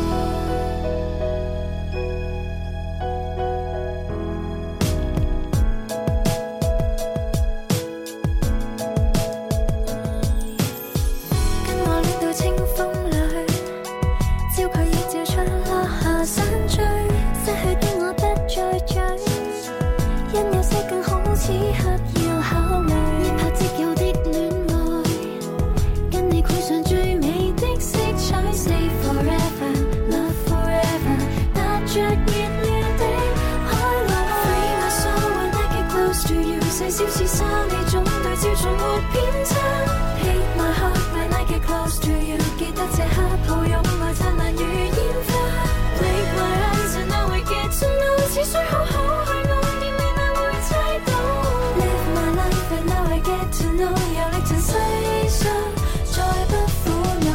此刻要考慮，一拍即有的戀愛，跟你繪上最美的色彩 ，Stay forever, love forever， 踏着熱戀的海浪 ，Free my soul when I get close to you， 細小似沙你總對焦從沒偏差 ，Hate my heart when I get close to you， 記得這刻抱擁愛燦爛如煙花 ，Blink my eyes and now I get to know， 似水好好去愛，點未能會猜到。Live my life and now I get to know， 遊歷塵世上再不苦惱。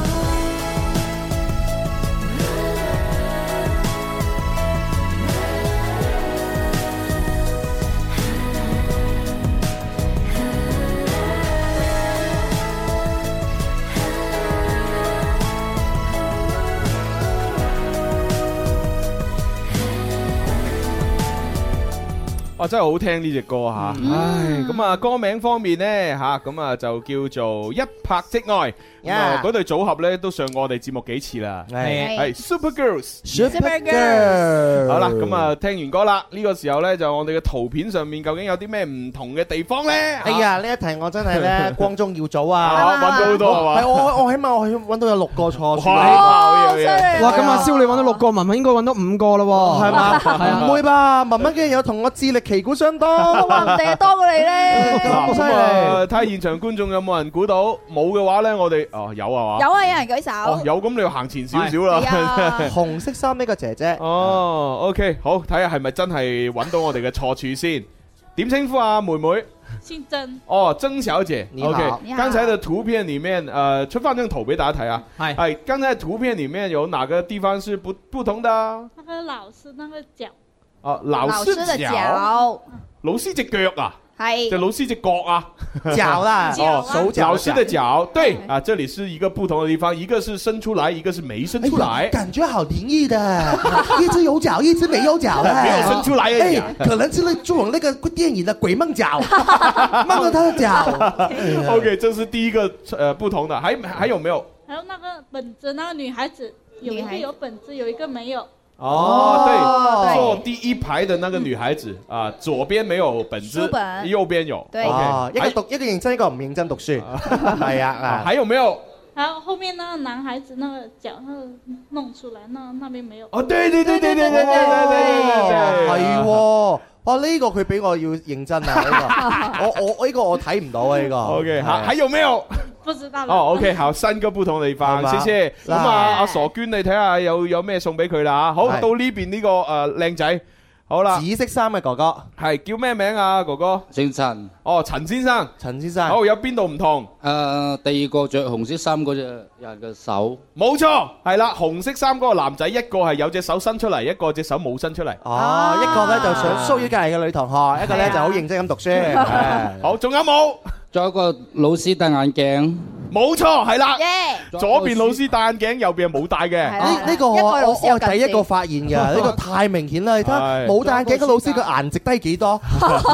哇，真係好聽呢隻歌吓，唉，咁啊歌名方面呢，吓，咁啊就叫做一拍即愛，咁啊嗰對組合咧都上過我哋節目幾次啦，係係 Super Girls，Super Girls， 好啦，咁啊聽完歌啦，呢個時候咧就我哋嘅圖片上面究竟有啲咩唔同嘅地方咧？ 哎呀，呢一題我真係咧光宗耀祖啊， 揾到好多係嘛？ 係我我起碼我揾到有六個錯， 哇， 哇，咁阿蕭你揾到六個，文文應該揾到五個咯， 係嘛？係啊，唔會吧？文文嘅有同我智力旗鼓相當， 話唔定係多過你咧， 咁犀利！ 睇下現場觀眾有冇人估到，冇嘅話咧，我哋哦有啊嘛？ 有啊，有人舉手。 有，咁你要行前少少啦。 紅色衫呢個姐姐。 哦 ，OK，好，睇下係咪真係揾到我哋嘅錯處先。點稱呼啊，妹妹？ 姓曾。 哦，曾小姐。 你好。 OK，剛才的圖片裡面，呃，出翻張圖俾大家睇啊。係。係，剛才圖片裡面有哪個地方是不不同的？ 那個老師那個腳。 哦，老師的腳。老師隻腳啊？ 係。 就老師隻腳啊？ 腳啦。 哦， 手腳。 老師的腳，對啊，這裡是一個不同的地方，一個是伸出來，一個是沒伸出來。 感覺好靈異的，一隻有腳，一隻沒有腳的。 沒有伸出來而已。 可能是那做那個電影的鬼夢腳，夢到他的腳。 OK，這是第一個呃不同的，還還有沒有？ 還有那個本子，那個女孩子有一個有本子，有一個沒有。 哦，對，坐第一排的那個女孩子啊，左邊沒有本子，右邊有。 對， 一個讀一個認真，一個唔認真讀書。係啊，啊， 還有沒有？ 還有後面那個男孩子那個腳那個弄出來，那那邊沒有。 哦，對對對對對對對對對， 係喎。哇！呢個佢比我要認真啊！呢個我我我呢個我睇唔到啊！呢個 OK，還還有沒有？ 不知道。 哦 OK，好，三個不同的地方，謝謝。咁啊，阿傻娟，你睇下有有咩送俾佢啦嚇。好，到呢邊呢個誒靚仔，好啦。 紫色衫嘅哥哥係叫咩名啊？哥哥姓陳。 哦，陳先生。 陳先生。 好，有邊度唔同？ 誒，第二個着紅色衫嗰隻人嘅手。 冇錯，係啦，紅色衫嗰個男仔，一個係有隻手伸出嚟，一個隻手冇伸出嚟。 哦，一個咧就想騷擾隔離嘅女同學，一個咧就好認真咁讀書。 好，仲有冇？ 仲有一個老師戴眼鏡。 冇錯，係啦。左邊老師戴眼鏡，右邊係冇戴嘅。 呢呢個我我我第一個發現㗎，呢個太明顯啦！你睇冇戴眼鏡嘅老師，個顏值低幾多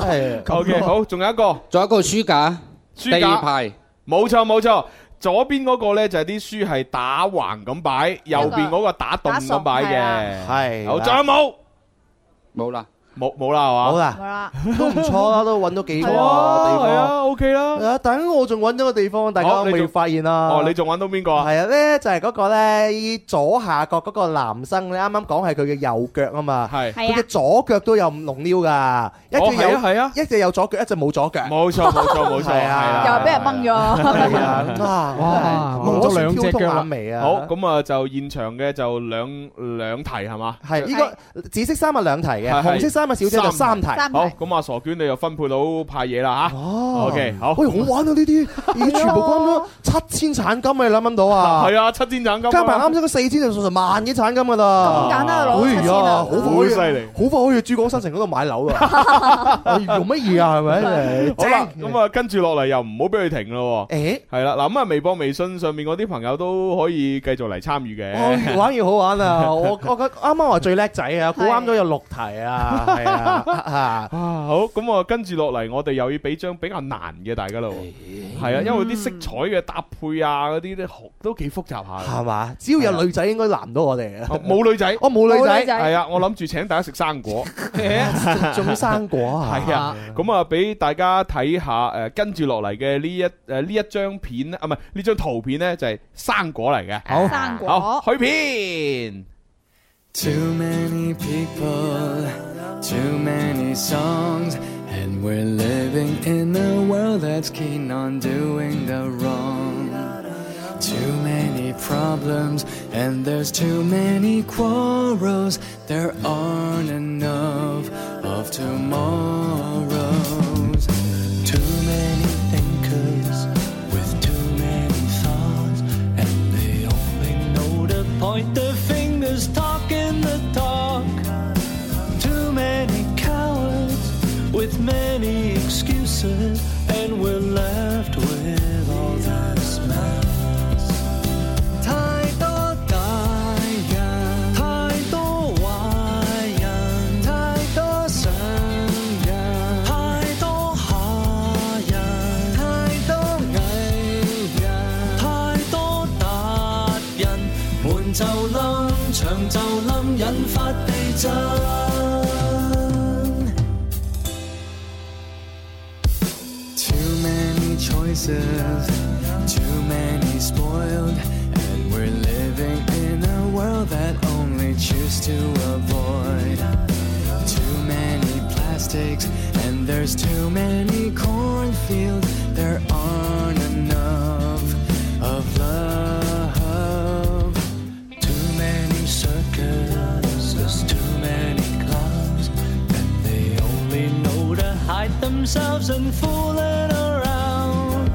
？OK，好，仲有一個， 仲有一個書架， 書架第二排。 冇錯冇錯，左邊嗰個咧就係啲書係打橫咁擺，右邊嗰個打棟咁擺嘅。係。好，仲有冇？ 冇啦。 冇冇啦係嘛？ 冇啦，都唔錯啦，都揾到幾個地方。 係啊 ，OK 啦。 但係我仲揾咗個地方，大家未發現啦。 哦，你仲揾到邊個啊？ 係啊，咧就係嗰個咧左下角嗰個男生，你啱啱講係佢嘅右腳啊嘛。係。佢嘅左腳都有龍溜㗎，一隻有係啊，一隻有左腳，一隻冇左腳。 冇錯冇錯冇錯。係啊。 又係俾人掹咗。 係啊。哇！ 掹咗兩隻腳尾啊！ 好，咁啊就現場嘅就兩兩題係嘛？ 係呢個紫色衫係兩題嘅，紅色衫。小姐就三題， 好，咁阿傻娟你又分配到派嘢啦吓。哦，OK，好。 喂，好玩啊呢啲，已經全部關咗七千產金，你諗唔諗到啊？ 係啊，七千產金。加埋啱先嗰四千就成萬幾產金噶啦。 咁簡單攞七千啊！ 好犀利，好快可以珠江新城嗰度買樓啊！用乜嘢啊？係咪？ 好啦，咁啊跟住落嚟又唔好俾佢停咯。 誒， 係啦，嗱咁啊微博、微信上面嗰啲朋友都可以繼續嚟參與嘅。 越玩越好玩啊！我我覺啱啱話最叻仔啊，估啱咗有六題啊。係啊，啊好，咁啊跟住落嚟，我哋又要俾張比較難嘅大家咯。係啊，因為啲色彩嘅搭配啊，嗰啲咧都幾複雜下。 係嘛？只要有女仔，應該難唔到我哋。 冇女仔， 我冇女仔。 係啊，我諗住請大家食生果。 種生果啊！ 係啊，咁啊俾大家睇下誒，跟住落嚟嘅呢一誒呢一張片啊，唔係呢張圖片咧，就係生果嚟嘅。 好，生果。 好，去片。 Too many people, too many songs, and we're living in a world that's keen on doing the wrong. Too many problems, and there's too many quarrels. There aren't enough of tomorrows. Too many thinkers with too many thoughts, and they only know to point their fingers, talking the talk. Too many cowards with many excuses, and we're left with all this mess. 太多大人，太多壞人，太多想人， 場就冧引發地震。 Too many choices, too many spoiled, and we're living in a world that only choose to avoid. Too many plastics, and there's too many cornfields. There aren't enough of love. Too many circuses, too many clowns, and they only know to hide themselves and fooling around.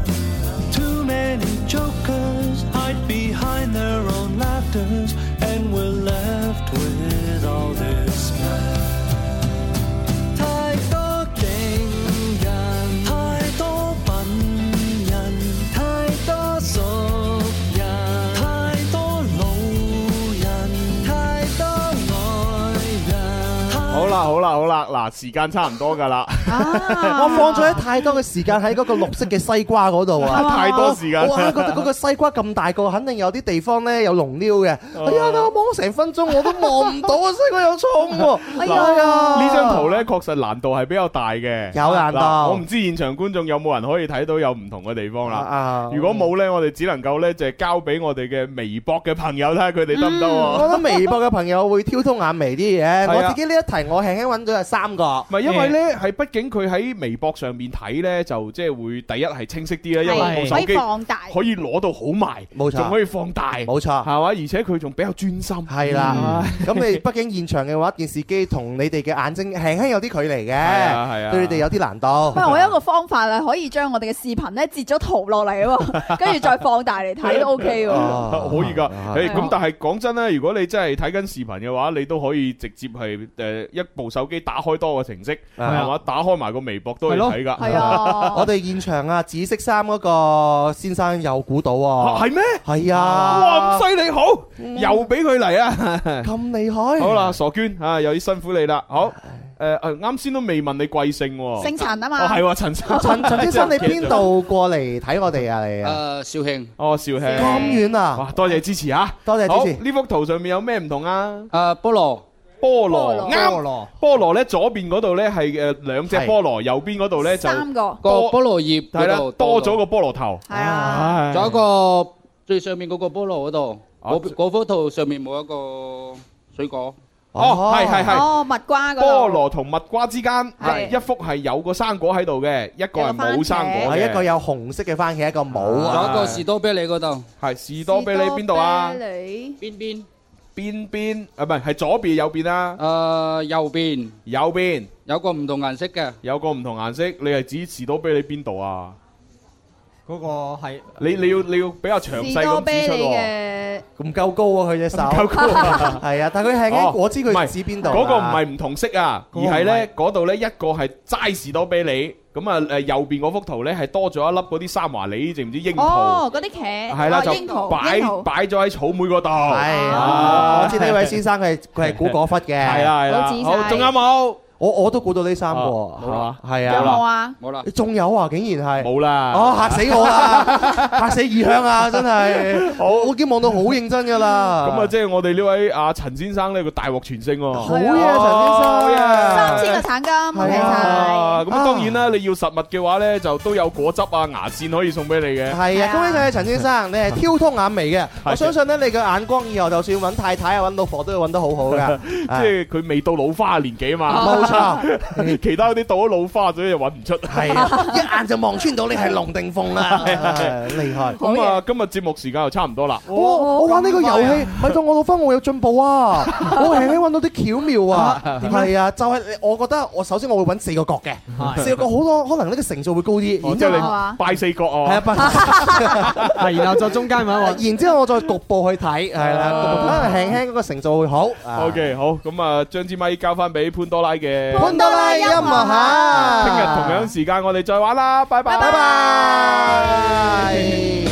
Too many jokers hide behind their own laughters, and we're left with all this mess. 太多勁人，太多笨人，太多熟人，太多老人，太多愛人。 好啦好啦好啦，嗱時間差唔多㗎啦。 我放咗太多嘅時間喺嗰個綠色嘅西瓜嗰度啊！ 太多時間。 哇！覺得嗰個西瓜咁大個，肯定有啲地方咧有龍溜嘅。哎呀！我望成分鐘我都望唔到啊！西瓜有葱喎。哎呀！ 呢張圖咧確實難度係比較大嘅。 有難度。 我唔知現場觀眾有冇人可以睇到有唔同嘅地方啦。如果冇咧，我哋只能夠咧就係交俾我哋嘅微博嘅朋友睇下佢哋得唔得喎？ 我覺得微博嘅朋友會挑通眼眉啲嘢。我自己呢一題我輕輕揾到係三個。 唔係因為咧係畢竟佢喺微博上面睇咧，就即係會第一係清晰啲啦，因為部手機可以攞到好埋， 冇錯， 仲可以放大， 冇錯， 係嘛？而且佢仲比較專心， 係啦。咁你畢竟現場嘅話，電視機同你哋嘅眼睛輕輕有啲距離嘅，係啊，對你哋有啲難度。 喂，我有一個方法啊，可以將我哋嘅視頻咧截咗圖落嚟喎，跟住再放大嚟睇都 OK 喎。 可以㗎，誒咁但係講真咧，如果你真係睇緊視頻嘅話，你都可以直接係誒一部手機打開多個程式，係嘛？打開埋個微博都可以睇㗎。 係啊， 我哋現場啊，紫色衫嗰個先生又估到啊， 係咩？ 係啊， 哇咁犀利，好，又俾佢嚟啊， 咁厲害。 好啦，傻娟啊，有啲辛苦你啦。好，誒誒，啱先都未問你貴姓喎， 姓陳啊嘛。 哦係喎，陳生。 陳陳先生，你邊度過嚟睇我哋啊？你啊？ 誒，肇慶。 哦，肇慶。 咁遠啊！ 哇，多謝支持啊！ 多謝支持。 呢幅圖上面有咩唔同啊？ 誒，菠蘿。 菠蘿啱，菠蘿咧左邊嗰度咧係誒兩隻菠蘿，右邊嗰度咧就三個個菠蘿葉係啦，多咗個菠蘿頭。 係啊， 仲有一個最上面嗰個菠蘿嗰度，嗰嗰幅圖上面冇一個水果。 哦，係係係。 哦，蜜瓜嗰度。 菠蘿同蜜瓜之間係一幅係有個生果喺度嘅，一個係冇生果嘅。 一個有紅色嘅番茄，一個冇。 仲有一個士多啤梨嗰度。 係士多啤梨邊度啊？ 邊邊？ 邊邊啊？唔係，係左邊右邊啊？ 誒，右邊。 右邊有個唔同顏色嘅。 有個唔同顏色，你係指士多啤梨邊度啊？ 嗰個係你你要你要比較詳細咁指出喎。 唔夠高啊！佢隻手。唔夠高啊！ 係啊，但係佢係嘅，我知佢指邊度。 嗰個唔係唔同色啊，而係咧嗰度咧一個係齋士多啤梨。咁啊誒右邊嗰幅圖咧係多咗一粒嗰啲三華李，知唔知櫻桃？ 哦，嗰啲茄。 係啦，就擺擺咗喺草莓嗰度。係啊，我知呢位先生佢係佢係估果忽嘅。 係啦係啦。好，仲有冇？ 我我都估到呢三個。 冇啦。 係啊。 有冇啊？ 冇啦。 你仲有啊？竟然係。 冇啦。 哦，嚇死我啦！嚇死異鄉啊！真係。好，我已經望到好認真㗎啦。 咁啊，即係我哋呢位阿陳先生呢個大獲全勝喎。 好嘢，陳先生。 三千個橙金，恭喜晒！ 咁當然啦，你要實物嘅話咧，就都有果汁啊、牙線可以送俾你嘅。 係啊，恭喜晒陳先生，你係挑通眼眉嘅。我相信咧，你嘅眼光以後就算揾太太啊、揾老婆都要揾得好好㗎。 即係佢未到老花年紀啊嘛。 冇錯， 其他嗰啲到咗老花，所以就揾唔出。 係啊，一眼就望穿到你係龍定鳳啦，厲害。 咁啊，今日節目時間又差唔多啦。 我我玩呢個遊戲，咪到我老花我有進步啊！我輕輕揾到啲巧妙啊。係啊，就係我覺得我首先我會揾四個角嘅，四個角好多可能呢個成數會高啲。 然之後你拜四角哦。 係啊，拜。 係，然後再中間揾揾。 然之後我再局部去睇，係啦，可能輕輕嗰個成數會好。 OK，好，咁啊，將支咪交翻俾潘多拉嘅。 潘多拉音樂盒。 聽日同樣時間我哋再玩啦，拜拜。 拜拜。